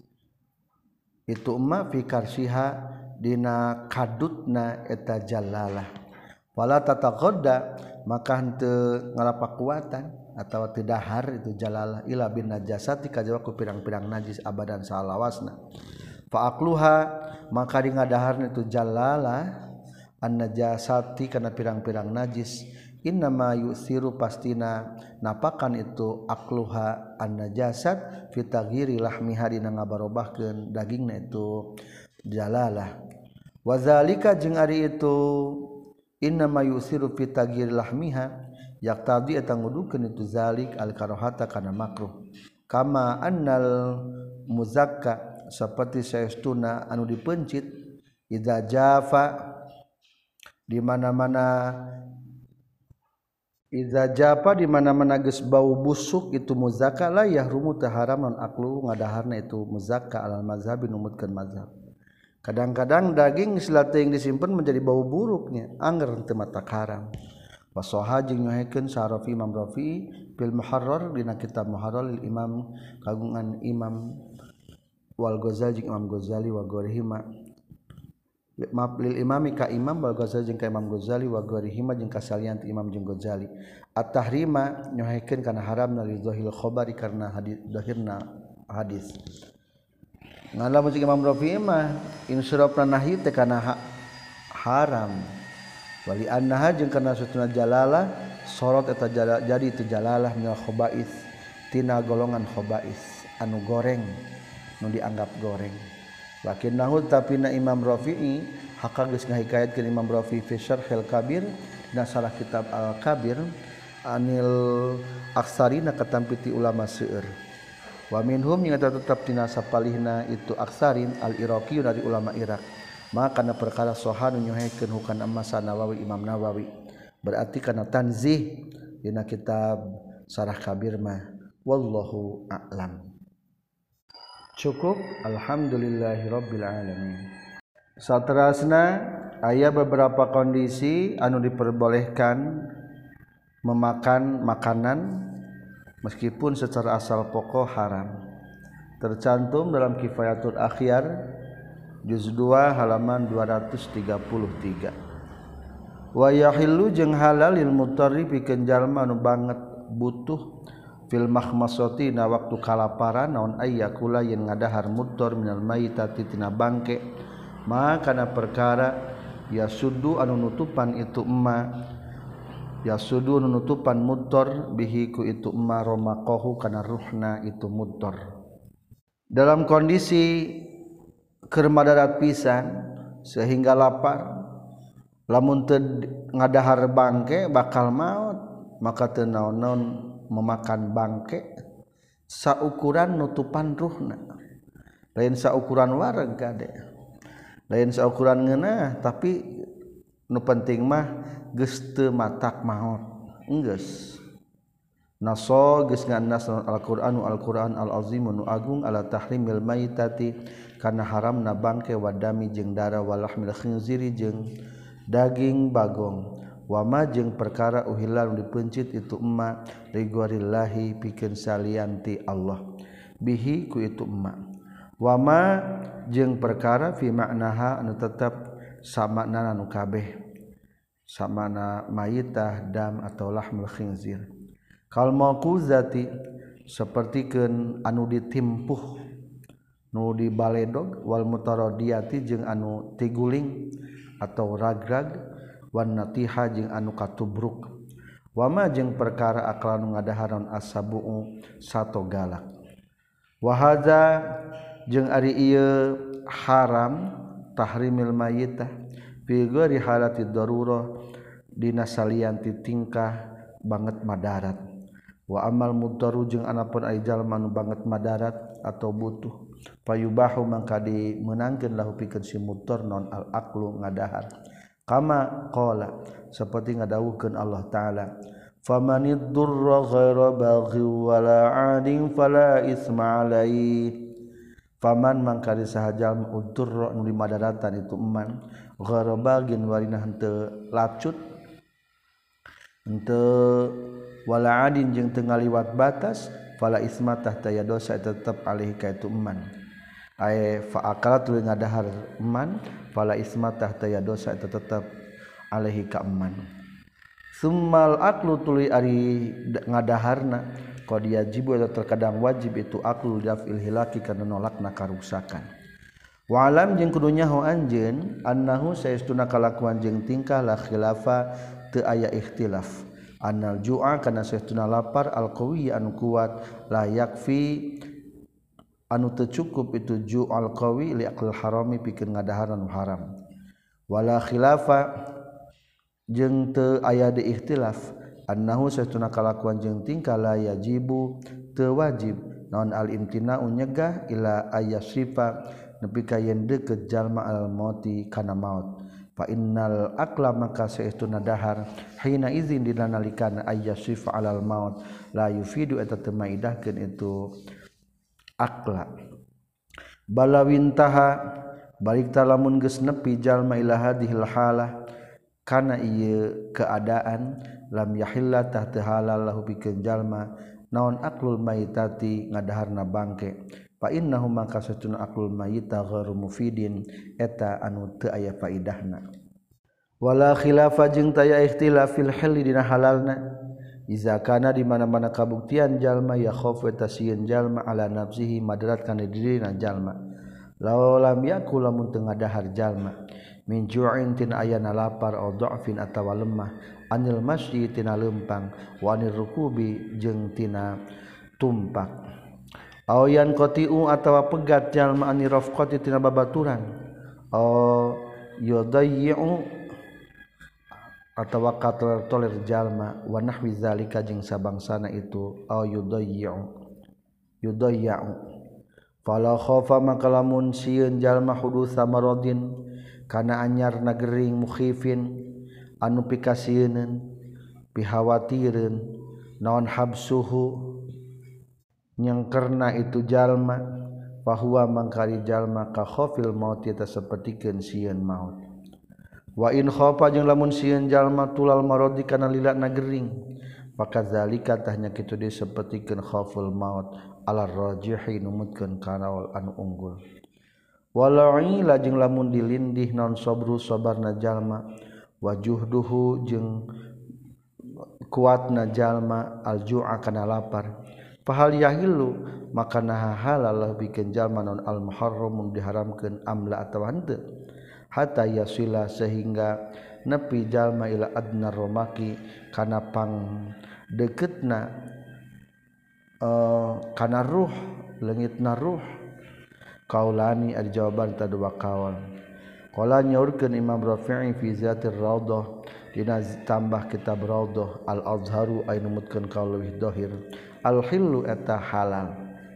itu ma fi karsiha dina kadutna eta jalalah wala tataqadda maka henteu ngalapakuatan atau tidahar itu jalalah ila bin najasati kajaba ku pirang-pirang najis abadan salawasna fa aqluha maka di ngadaharna itu jalalah an najasati kana pirang-pirang najis innama yusiru pastina napakan itu aqluha an najasat fi taghyiri lahmiha dina ngabarobahkeun dagingna itu jalalah wazalika jeung ari itu innama yusiru fi taghyiri lahmiha yak tadi eta ngudukeun itu zalik al karohata kana makruh kama annal muzakka saperti saestuna anu dipencit idza jafa di mana-mana idza jafa di mana-mana geus bau busuk itu muzakka la yahrumu taharaman aqlu ngadaharna itu muzakka alal mazhabi numutkeun mazhab kadang-kadang daging geus teuing disimpen menjadi bau buruknya angger teu mata haram wasoha jeung nyohekeun Sarafi Imam Rafi fil Muharrar dina kitab Muharrar lil Imam kagungan Imam wal Ghazali jeung Imam Ghazali wa ghairihima maaf lil imami ka Imam wal Ghazali jeung ka Imam Ghazali wa ghairihima jeung kasalian Imam jeung Ghazali at-tahrima nyohekeun kana haramna li dhahil khabari karna hadis dhahirna hadis ngalamun jeung Imam Rafi mah insyrafna nahi teh kana ha haram wali annaha jeung kana satuna jalalah sorot eta jala, jadi itu jalalah minal khaba'is tina golongan khaba'is anu goreng nu dianggap goreng lakin nahu tapina Imam Rafi'i haka geus ngahikayatkeun Imam Rafi'i fi Syarhil Kabir dina salah kitab Al-Kabir anil aksarina katampiti ulama seueur wa minhum yang tetap tina sapalihna itu aksarin al-Iraqi dari ulama Irak maka kana perkara soha nu nyohekeun hukana masa Nawawi Imam Nawawi berarti kana tanzih dina kitab Syarah Kabir mah wallahu a'lam. Cukup alhamdulillahirabbil alamin. Saterasna aya beberapa kondisi anu diperbolehkan memakan makanan meskipun secara asal pokok haram. Tercantum dalam Kifayatul Akhyar juz dua halaman dua ratus tiga puluh tiga. Wa yahillu jeung halal lil mutarri pikeun jalma anu banget butuh fil mahmasati na waktu kalaparan naon ayyakula yen ngadahar mutor minal maitati tina bangke maka na perkara ya sudu anu nutupan itu emma ya sudu anu nutupan mutor bihi ku itu emma romaqahu kana ruhna itu mutor dalam kondisi keur madarat pisan sehingga lapar lamun teu ngadahar bangke bakal maot maka teu naon-naon memakan bangke saukuran nutupan ruhna lain saukuran wareg gade lain saukuran ngeunah tapi nu penting mah geus teu matak maot enggeus naso geus ngannas al-Qur'anu al-Qur'an al-azim nu agung ala tahrimil maitati kana haramna bangke wadami jeung dara walahmil khinziri jeung daging bagong wama jeung perkara uhilal dipencit itu emma rigwarillahi pikeun salianti Allah bihi ku itu emma wama jeung perkara fi maknaha anu tetep samakna anu kabeh samana mayitah dam atau lahmul khinzir kal mauquzati sapertikeun anu ditimpuh nu dibaledog wal mutaradiyati jeung anu tiguling atau ragrag wan natiha jeung anu katubruk wama jeung perkara akal nu ngadaharon asabu sato galak wa hadza jeung ari ieu haram tahrimil mayitah fi ghairi halati darurah dina salianti tingkah banget madarat wa amal mudaru jeung anapun ai jalma nu banget madarat atau butuh payubahu mangka dimeunangkeun lahu pikeun si mudar non al aqlu ngadahar kama qala saperti ngadawuhkeun Allah taala famanid durra ghaira baghi wala adin fala isma alaihi faman mangka disahajal udurra nu dimadaratan itu eman ghaira bagin warina henteu lacut henteu wala adin jeung teu ngaliwat batas fala isma tahta ya dosa tetep alih ka itu eman ay fa akalat tuluy ngadahar eman fala isma tahta ya dosa tetep alih ka eman summal aqlu tuluy ari ngadaharna qad yajibu atau terkadang wajib itu aqlu dafil hilaki kana nolakna karusakan wa alam jeung kudu nyaho anjeun annahu saestuna kalakuan jeung tingkah la khilafa teu aya ikhtilaf annal ju'a kana saestuna lapar alqawi anu kuat la yakfi anu teu cukup itu ju'al qawi li aql harami pikeun ngadaharan haram wala khilafa jeung teu aya di ikhtilaf annahu saestuna kalakuan jeung tingkah la yajibu teu wajib naon al imtina'u nyegah ila ayasifa nepi ka yen deukeut jalma al mauti kana maut fa innal aqla maka saestuna dahar hina izin dina nalikana ayyasifa alal maut la yufidu eta teu maidahkeun itu aqla balawintaha balik talamun geus nepi jalma ila hadhil halah kana ieu keadaan lam yahilla tahta halal lahu pikeun jalma naon aqlul maitati ngadaharna bangke fa innahu maka satuna aqlul mayita ghairu mufidin eta anu teu aya faidahna wala khilafa jeung taya ikhtilaf fil halli dina halalna iza kana di mana-mana kabuktian jalma ya khauf eta sieun jalma ala nafsihi madarat kana dirina jalma law lam yakul lamun teu ngadahar jalma min ju'in tin ayana lapar au dha'fin atawa lemah anil masyi tina leumpang wa anir rukubi jeung tina tumpak au yan qatiu atawa pegat jalma anir rafqati tina babaturan au yudayyu atawa kator toler jalma wa nahwi zalika jeung sabangsana itu au yudayyu yudayyu fala khafa maka lamun sieun jalma hudusa maradin kana anyar nagering mukhifin anu pikasieun pihawatireun naon habsuhu nyengkerna itu jalma fahuwa mangkari jalma ka khofil maut eta sapertikeun sieun maut wa in khofa jeung lamun sieun jalma tulal marodi kana lilana gering maka zalika tahnya kitu deui sapertikeun khoful maut ala rajihi numutkeun kana anu unggul wala'i lajeng lamun dilindih non sabru sabarna jalma wajuhduhu jeung kuatna jalma alju'a kana lapar fahal yahillu maka naha halal bikeun jalma non al muharram diharamkeun amla atawa henteu hatta yasila sehingga nepi jalma ila adna romaki kana pang deketna uh, kana ruh leungitna ruh kaulani ari jawaban ta dua kaul qala nyaurkeun Imam Rafi'i fi zatir raudhah dina tambah kitab raudhah al azharu ay numutkeun kaul leuwih dhahir al hillu eta halal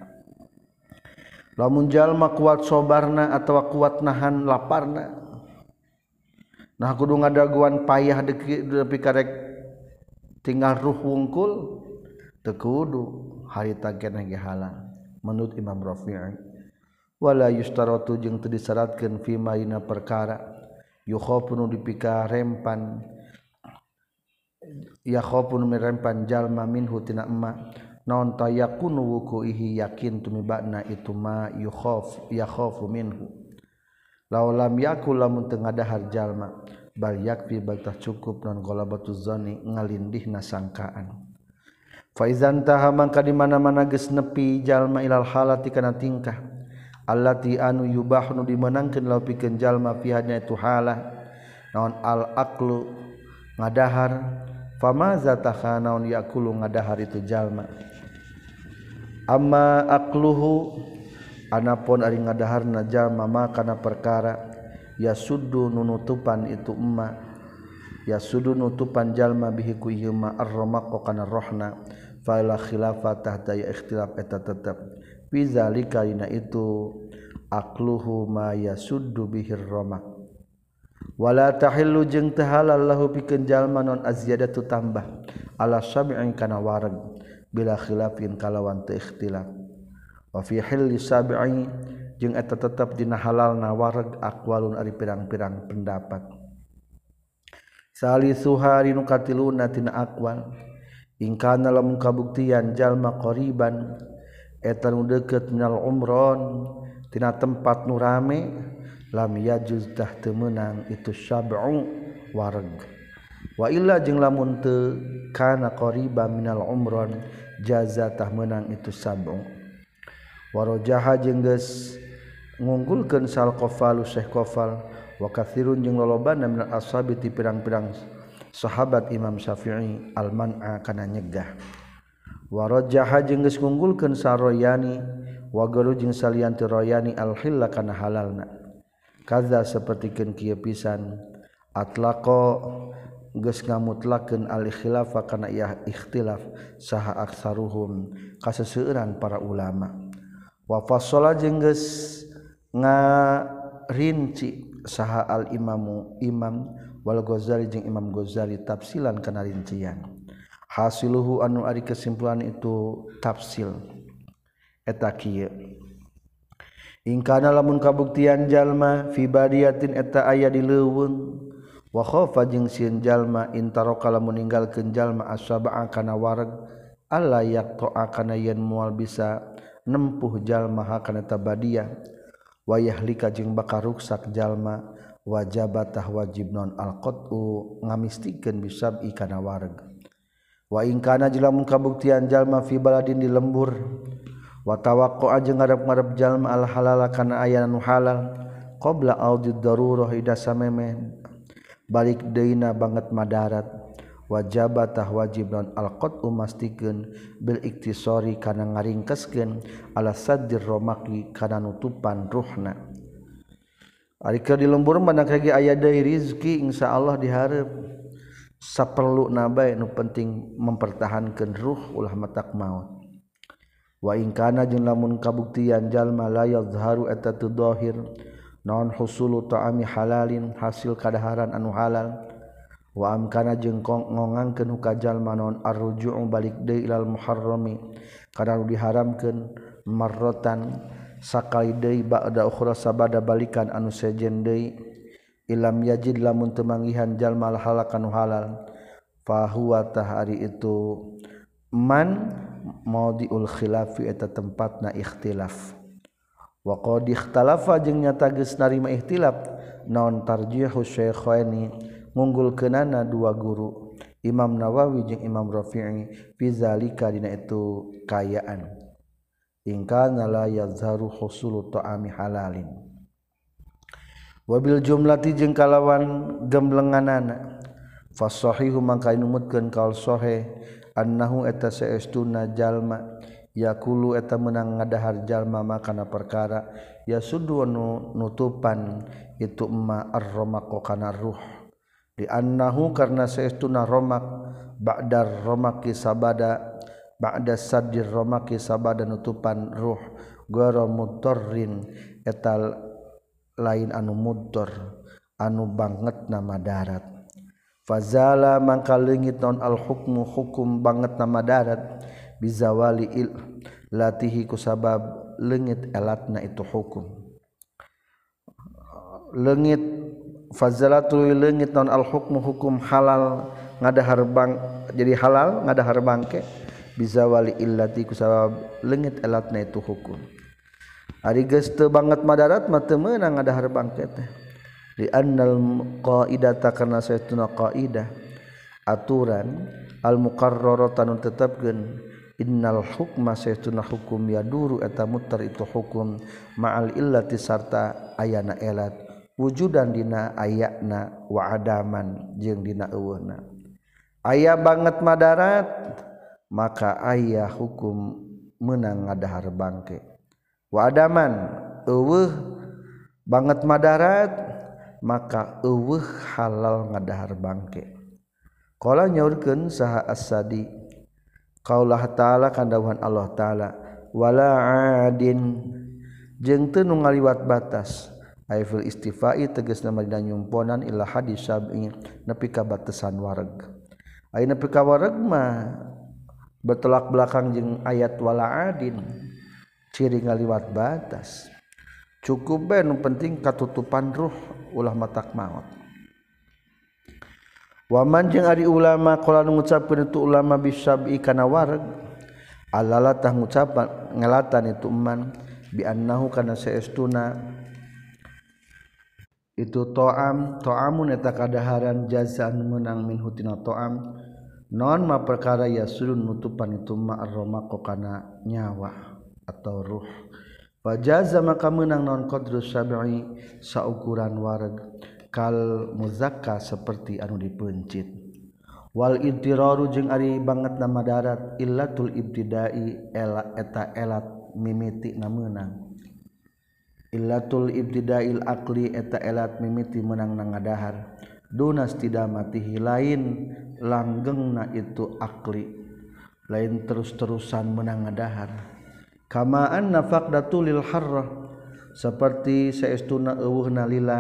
lamun jalma kuat sabarna atawa kuat nahan laparna nah kudu ngadaguan payah depi karek tinggal ruh wungkul teu kudu harita keneh ge halal menurut Imam Rafi'i wala yustaratu jeung teu disyaratkeun fi maina perkara yukhafunu dipika rempan ya khafunu mirempan jalma minhu tina emma naon tayakunu wukuihi yakin tumibana itu ma yukhaf ya khafu minhu law lam yakul lamun teu ngadahar jalma bal yakfi baltah cukup non golabatuz zanni ngalindihna sangkaan fa izan taha mangka di mana-mana geus nepi jalma ilal halati kana tingkah allati anu yubahnu dimenangkeun law pikeun jalma fianya itu halah naon al aqlu ngadahar famaza taha naon yakulu ngadahar itu jalma amma aqluhu anapun ari ngadaharna jalma maka kana perkara yasuddu nunutupan itu emma yasuddu nutupan jalma bihi ku ieu ma ar-ramaq kana rohna fa la khilafah tahta ya ikhtilaf eta tetep fi zalika ina itu aqluhu ma yasuddu bihir ramaq wala tahillu jeung teu halal lahu pikeun jalma non azyadatu tambah ala sab'in kana wareg bila khilafin kalawan teu ikhtilaf wa fi hilli sab'i jeung eta tetep dina halalna wareg aqwalun ari pirang-pirang pendapat salisuha rinu katiluna tina aqwal in kana lamun kabuktian jalma qariban eta nu deukeut minal umron tina tempat nu rame lam yajuz tah teu meunang itu sab'u wareg wa illa jeung lamun teu kana qariban minal umron jaza tah meunang itu sab'u warajaha jeung geus ngunggulkeun sal qafalu syekh qafal wa katsirun jeung lolobana minal ashabi ti pirang-pirang sahabat Imam Syafi'i al man'a kana nyegah warajaha jeung geus ngunggulkeun saroyani wa garu jeung salian ti royani al hilla kana halalna kaza sapertikeun kieu pisan atlaqa geus ngamutlakeun al khilafa kana iah ikhtilaf saha aksaruhum kaseseueuran para ulama wa fassala jeung geus ngarinci saha al imamu imam wal Ghazali jeung Imam Ghazali tafsilan kana rincian hasiluhu anu ari kesimpulan itu tafsil eta kieu in kana lamun kabuktian jalma fi badiyatin eta aya di leuweung wa khafa jeung sieun jalma intaraka lamun ninggalkeun jalma asaba kana wareg alla yaqta'a kana yen moal bisa nempuh jalma hakana tabadiyah wa yahlika jeung bakal ruksak jalma wajabatah wajib non alqatu ngamistikeun bisab ikana wareg wa in kana lamun kabuktian jalma fi baladin di lembur wa tawaqqa'a jeung ngarep-ngarep jalma al halal kana aya nu halal qabla audid darurah ida samemeh balik deuna banget madarat wajabatah wajib non alqatu mastikeun bil iktisari kana ngaringkeskeun ala saddir romaki kana nutupan ruhna ari keur di lembur mandak lagi aya deui rezeki insyaallah dihareup saperluna bae nu penting mempertahankeun ruh ulah matak maut wa in kana jeung lamun kabuktian jalma la yazharu eta teu dhahir naon husulu ta'ami halalin hasil kadaharan anu halal wa amkana jeung ngongangkeun ka jalma naon arruju'u balik deui ilal muharrami kana diharamkeun marratan sakali deui ba'da ukhra sabada balikan anu sejen deui ilam yajid lamun teu manggihan jalma halakan halal fa huwa tahari itu man maudiul khilafi eta tempatna ikhtilaf wa qad ikhtalafa jeung nyata geus narima ikhtilaf naon tarjihu syaikhaini ngunggulkeunana dua guru Imam Nawawi jeung Imam Rafi'i fi zalika dina itu kayaan ingkana la yazharu husulu ta'ami halalin wabil jumlati jeung kalawan gemblenganana fasahihu mangka numutkeun kaul sahih annahu eta saestuna jalma yakulu eta meunang ngadahar jalma makana perkara yasuddu nutupan itu emma ar-ramaqu kana ruh di annahu karna saestuna ramaq ba'dar ramaqi sabada ba'da saddir ramaqi sabada nutupan ruh gara mudarrin eta lain anu mudor anu bangetna madarat fazala mangka leungit naon al hukmu hukum bangetna madarat bizawali il latihi kusabab leungit elatna itu hukum leungit fazalatul leungit naon al hukmu hukum halal ngadahar bang jadi halal ngadahar bangke bizawali illati kusabab leungit elatna itu hukum ari geus teu banget madarat mah teu meunang ngadahar bangke teh li annal qaidata kana saytuna qaidah aturan al muqarrarata nu tetepkeun innal hukma saytuna hukum yaduru eta mutar itu hukum ma'al illati sarta ayana elat wujudan dina ayana wa adaman jeung dina eueuhna aya banget madarat maka aya hukum meunang ngadahar bangke wa adaman eueuh banget madarat maka eueuh halal ngadahar bangke qala nyaurkeun saha as-sadi qaulullah ta'ala kandawuhan Allah ta'ala wala adin jeung teu nu ngaliwat batas aifil istifai tegasna dina nyumponan ila hadis sab'i nepi ka batasan wareg aya nepi ka wareg mah bertolak belakang jeung ayat wala adin ciri ngaliwat batas cukup bae nu penting katutupan ruh ulah matak maot waman jeung ari ulama qala nu ngucapkeun itu ulama bisab'i kana wareg alala tah ngucapan ngelatan itu man bi annahu kana saestuna itu to'am to'amun eta kadaharan jazaan menang min hutina to'am non ma perkara yasulun nutupan itu ma ar-ramaqu kana nyawa atau ruh fajaza maka menang non qadru sab'i saukuran wareg kal muzakka seperti anu dipencit wal idtiraru jeung ari bangetna madarat illatul ibtidai ela eta elat mimiti na meunang illatul ibtidail aqli eta elat mimiti menang nangadahar dunas tidak matihi lain langgengna itu akli lain terus-terusan menang ngadahar kama anna faqdatul lil harrah seperti saestuna eueuhna lila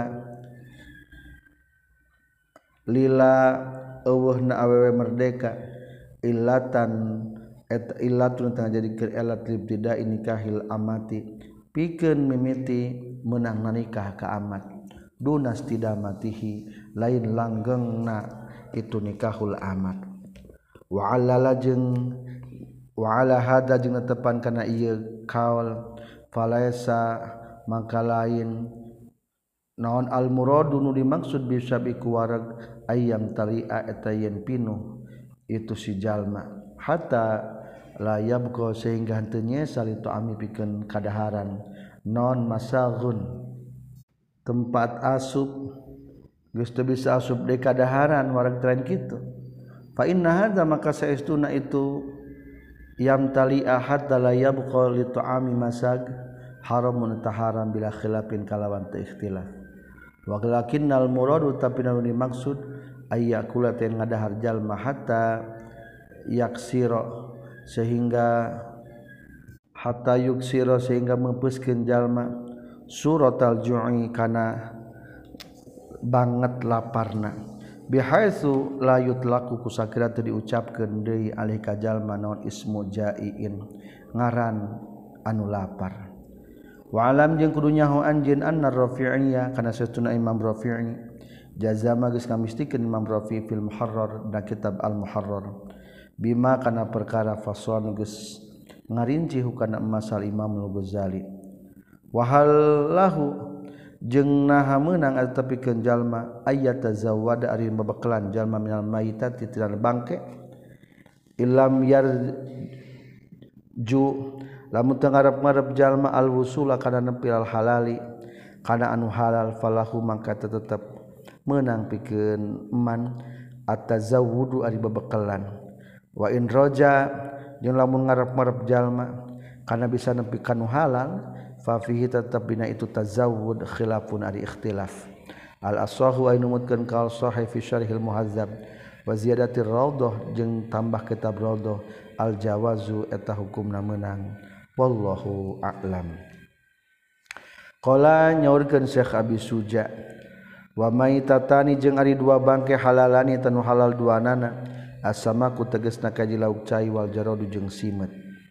lila eueuhna awewe merdeka illatan eta illatun tang jadi keur elat ibtida nikahil amati pikeun mimiti meunang nikah ka amat dunas tidak matihi lain langgengna itu nikahul amat wa alala jeung wa ala hada jeung netepan kana ieu kaul falaisa mangka lain naon al muradu nu dimaksud bisa biku warag ayam talia eta yen pinuh itu si jalma hatta la yabqa sehingga henteu nyesal itu ami pikeun kadaharan non masaghun tempat asup geus teu bisa asup deui kadaharan warag tren kitu fa inna hadza maka saestuna itu yam talia hatta la yabqa li ta'ami masag haramun taharam bila khilafin kalawan teu ikhtilaf wa lakinnal muradu tapi nu dimaksud ayyakula ten ngadahar jalma hatta yaksira sehingga hatta yuksira sehingga mempeuskeun jalma suratal ju'i kana banget laparna bihaitsu la yutlaqu kusakira teu diucapkeun deui alih ka jalma naon ismu jaiin ngaran anu lapar wa alam jeung kudu nyaho anjeun anna Rafi'iyya kana satuna Imam Rafi'i jazama geus ngamistikeun Imam Rafi'i fil Muharrar da kitab Al Muharrar bima kana perkara faswan geus ngarinci hukana masal Imam Al-Ghazali wa halahu jeung naha meunang atapikeun jalma ayat tazawwada ari babaklan jalma minal mayitati tina bangke ilam yarju lamun teu ngarep-ngarep jalma al-wusula kana nepi al halali kana anu halal falahu mangka tetep meunang pikeun man at-tazawwudu ari babaklan wa in roja jeung lamun ngarep-ngarep jalma kana bisa nepi kanu halal fa fihi tetep dina itu tazawwud khilafun ari ikhtilaf al asahu ay numutkeun kal sahih fi syarhil muhazzab wa ziyadatir raudhah jeung tambah kitab raudhah al jawazu eta hukumna meunang wallahu a'lam qala nyaurkeun Syekh Abi Suja wa maitatani jeung ari dua bangke halalani tanu halal duanana asama ku tegasna kaji lauk cai wal jaradu jeung simet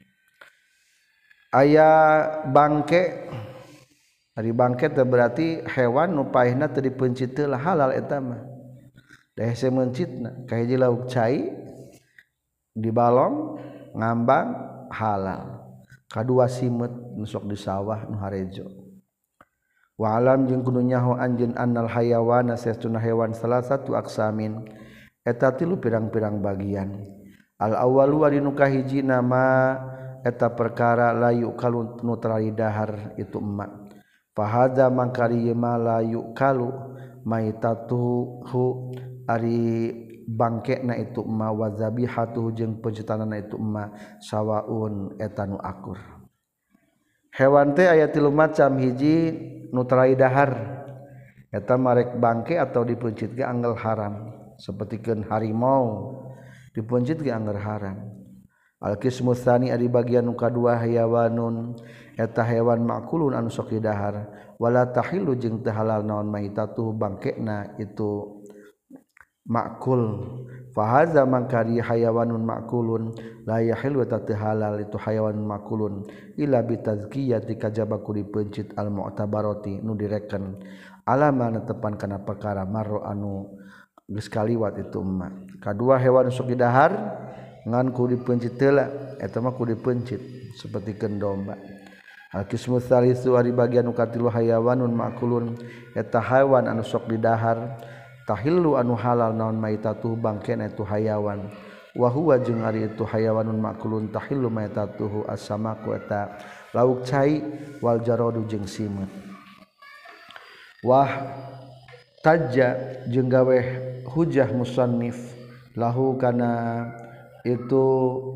aya bangke ari bangke teh berarti hewan nu paehna teu dipencit teh halal eta mah da hese mencitna ka hiji lauk cai dibalong ngambang halal kadua simet nu sok di sawah nu harejo wa alam jeung kudu nyaho anjeun annal hayawana sesuna hewan salah satu aksamin eta tilu pirang-pirang bagian al awwalu ari nu kahiji nama eta perkara layu kalu nutrali dahar itu emak fahadza mangkari ma layu kalu maitatuhu ari bangkena itu emak wa zabihatuhu jeung pencetanana itu emak sawaun eta nu akur hewan teh aya tilu macam hiji nutrali dahar eta marek bangke atau dipencit ge anggal haram sapertikeun harimau dipencit ge anggar haram al-qismu tsani ari bagian nu kadua hayawanun eta hewan makulun anu sok didahar wala tahillu jeung teu halal naon maitatuh bangkena itu makul fa hadza mangkari hayawanun makulun la yahillu ta teu halal itu hayawan makulun illa bi tazkiyati kajaba ku dipencit al mu'tabarati nu direken alama netepan kana perkara marro anu geus kaliwat itu emak kadua hewan sok didahar ngan ku dipencit heula eta mah ku dipencit sapertikeun domba al-qismu tsalisu ari bagian nu katilu hayawanun makulun eta hayawan anu sok didahar tahillu anu halal naon maitatuh bangkena itu hayawan wa huwa jeung ari itu hayawanun makulun tahillu maitatuhu as-samaku eta lauk cai wal jaradu jeung simet wah tajja jeung gawe hujah musannif lahu kana itu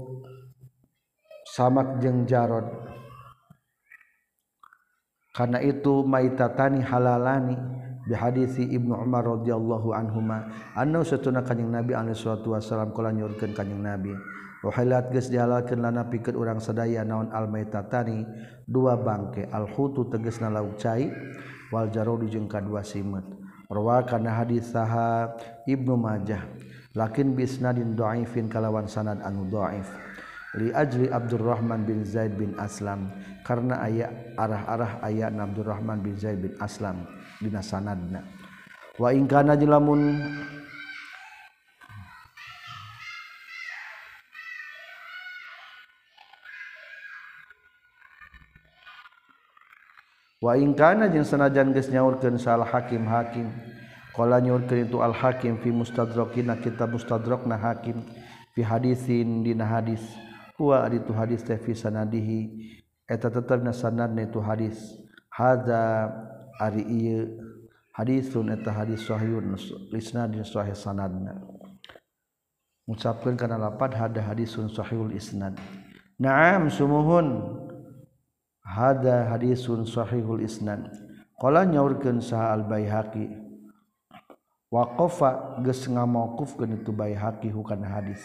samak jeung jarod karena itu maitatani halalani bi hadisi Ibnu Umar radhiyallahu anhuma anna satuna kanjing Nabi alaihi salatu wasallam kala nyurkeun kanjing Nabi wa halat geus dihalalkeun lana pikeun urang sadaya naon al maitatani dua bangke al hutu tegasna lauk cai wal jarod jeung kadua simet rawa kana hadis saha Ibnu Majah lakin bisnadin dhaifin kalawan sanad anu dhaif li ajli Abdurrahman bin Zaid bin Aslam karena aya arah-arah aya Abdurrahman bin Zaid bin Aslam dina sanadna wa in kana lamun wa in kana jeung sanajan geus nyaurkeun salah hakim hakim qala nyurkeun itu al-hakim fi mustadrakina kitab mustadrakna hakim fi hadisin dina hadis huwa ari tu hadis teh fi sanadihi eta tetepna sanadna itu hadis hadza ari ieu hadisun eta hadis sahihun isnadin sahih sanadna ngucapkeun kana lapad hada hadisun sahihul isnad na'am sumuhun hada hadisun sahihul isnad qala nyaurkeun saha al-Baihaqi waqafa geus ngamauqufkeun itu Baihaqi hukana hadis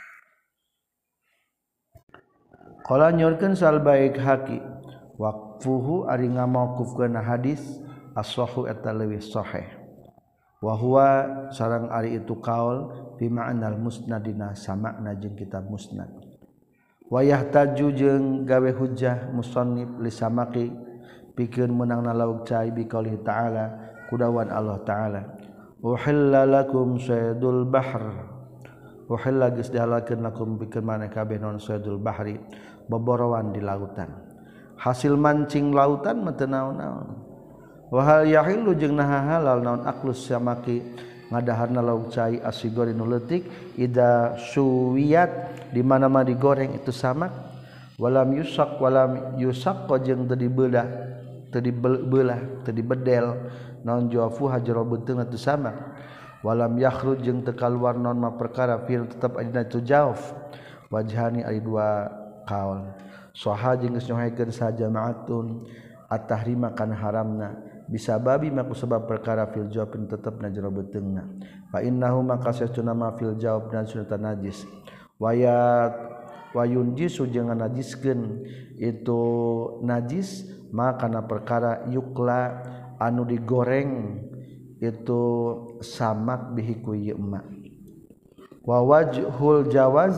qala nyorkeun sal Baihaqi waqfuhu ari ngamauqufkeun hadis as-sahhu eta leuwih sahih wa huwa sareng ari itu kaul bi ma'nal musnadina samakna jeung kitab musnad wa yahtaju jeung gawe hujjah musannif li samaqi pikeun meunangna lauk cai bi qauli ta'ala kudawan Allah ta'ala uhilla lakum saydul bahr uhilla geus dihalalkeun lakum pikeun maneh kabeh non saydul bahri boborowan di lautan hasil mancing lautan mah teu naon-naon wa hal yahillu jeung naha halal naon aklus samaki ngadaharna lauk cai asigori nu leutik ida suwiyat di mana-mana digoreng itu samak walam yusak walam yusak jeung teu dibelah teu dibelah teu dibedel naon jawafu hajro beuteungna tu samak walam yakhruj jeung teu kaluar naon ma perkara fil tetep adina tu jawf wajhani ari dua kaul saha jeung geus nyohekeun sa jamaatun at-tahrima kana haramna bisa babi maku sebab perkara fil jawab tetepna jero beuteungna fa innahu maka satuna ma fil jawab dan sunatan najis wayat wayun jisu jeung najiskeun itu najis maka kana perkara yukla anu digoreng itu samak bihi ku ieu emak wa wajhul jawaz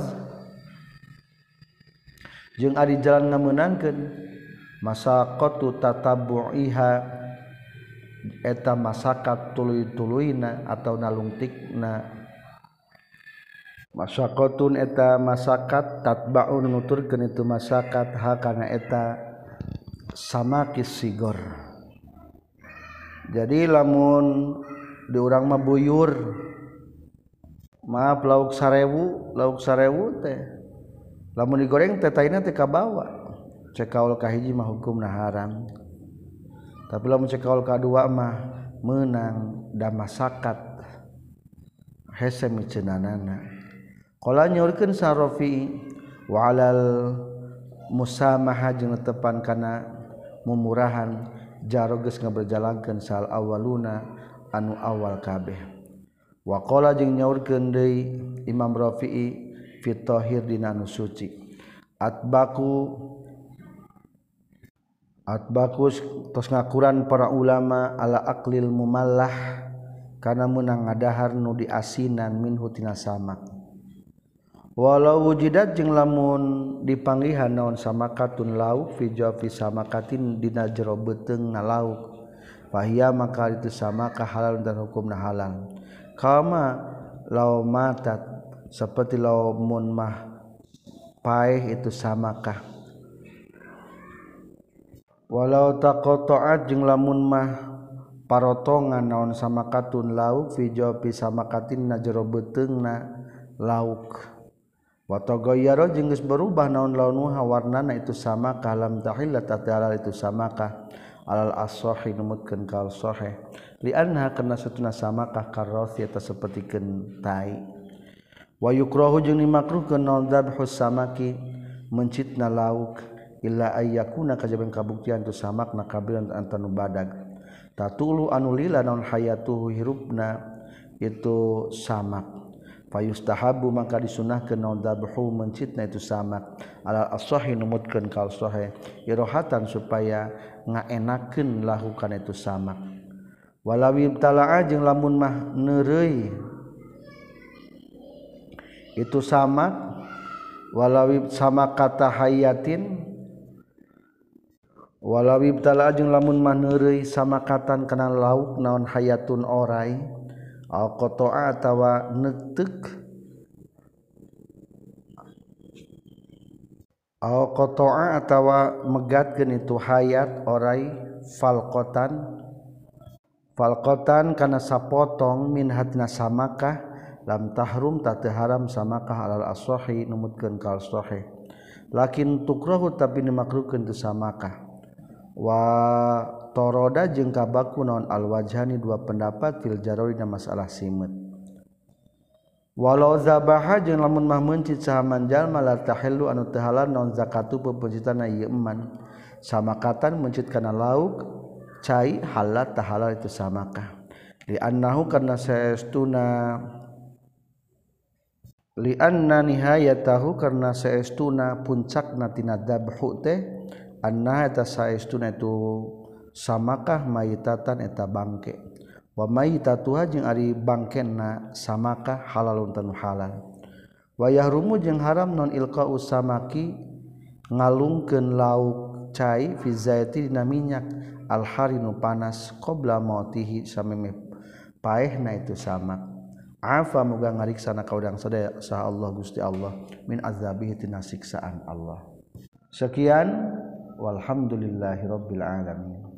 jeung ari jalan ngameunangkeun masaqatu tatabbu'iha eta masakat tuluy-tuluyna atau nalungtikna masaqatun eta masakat tatba'un nuturkeun itu masakat ha kana eta samakis sigor jadi lamun di urang mah buyur maaf lauk sarewu lauk sarewu teh lamun digoreng teh taina teh kabawa cek kaul kahiji mah hukumna haram tapi lamun cek kaul kadua mah meunang da masakat hese miceunanana qala nyaurkeun sa Rafi wa alal musamahah jeung tepan kana mumurahan jaro geus ngaberjalankeun sal awaluna anu awal kabeh wa qala jeung nyaurkeun deui Imam Rafi'i fi tahir dina anu suci atbaku atbakus tos ngakuran para ulama ala aqlil mumallah kana meunang ngadahar nu diasinan minhu tina samak walau wujidat jeung lamun dipanggihan naon samakatun lauk fi jafi samakatin dina jero beuteungna lauk fahiya maka itu samaka halal dan hukumna halal kama law matat seperti lamun mah paeh itu samakah walau taqatta'at jeung lamun mah parotongan naon samakatun lauk fi jafi samakatin na jero beuteungna lauk wa taghayyara jeung geus berubah naon launuha warnana itu sama kalam tahillat ta'ala itu samakah alal as-sahih numutkeun kal sahih li anha kana satuna samakah karrosi eta sapertikeun tai wa yukrahu jeung dimakruhkeun naon dzabhus samaki mencitna lauk illa ayyakuna kajaban kabuktian tu samakna kabilan antanu badag tatulu anu lila naon hayatuhu hirupna itu samak fayustahabu maka disunahkeun naon dzabhu mencitna itu samak alal as-sahih numutkeun kal sahih irohatan supaya ngaenakeun lahu kana itu samak walawi tala'a jeung lamun mah neureui itu samak walawi samak kata hayatin walawi tala'a jeung lamun mah neureui samakatan kana lauk naon hayatun orai al qata'a atawa neuteuk al qata'a atawa megatkeun itu hayat orai falqatan falqatan kana sapotong min hadna samakah lam tahrum ta teu haram samakah alal as-sahih numutkeun kal sahih lakin tukrahu tapi dimakruhkeun tu samakah wa toroda jeung kabaku naon al-wajhani dua pendapat fil jarori na masalah simet walau zabaha jeung lamun mah mencit sahaman jalma la tahillu anu teu halal naon zakatu pepencitana ieu eman samakatan mencit kana lauk cai halal tah halal itu samakah li annahu karna saestuna li anna nihayatahu karna saestuna puncakna tina dzabhu teh anna eta saestuna itu samakah mayitatan eta bangke wa mayitatuha jeung ari bangkenna samakah halalun tanu halal wa yahrumu jeung haram non ilqa'u samaki ngalungkeun lauk cai fi zaiti dina minyak al-harinu panas qabla mautihi sameme paehna itu samak afa muga ngariksana ka urang sadaya saha Allah Gusti Allah min azabihi tina siksaan Allah. Sekian walhamdulillahirabbil alamin.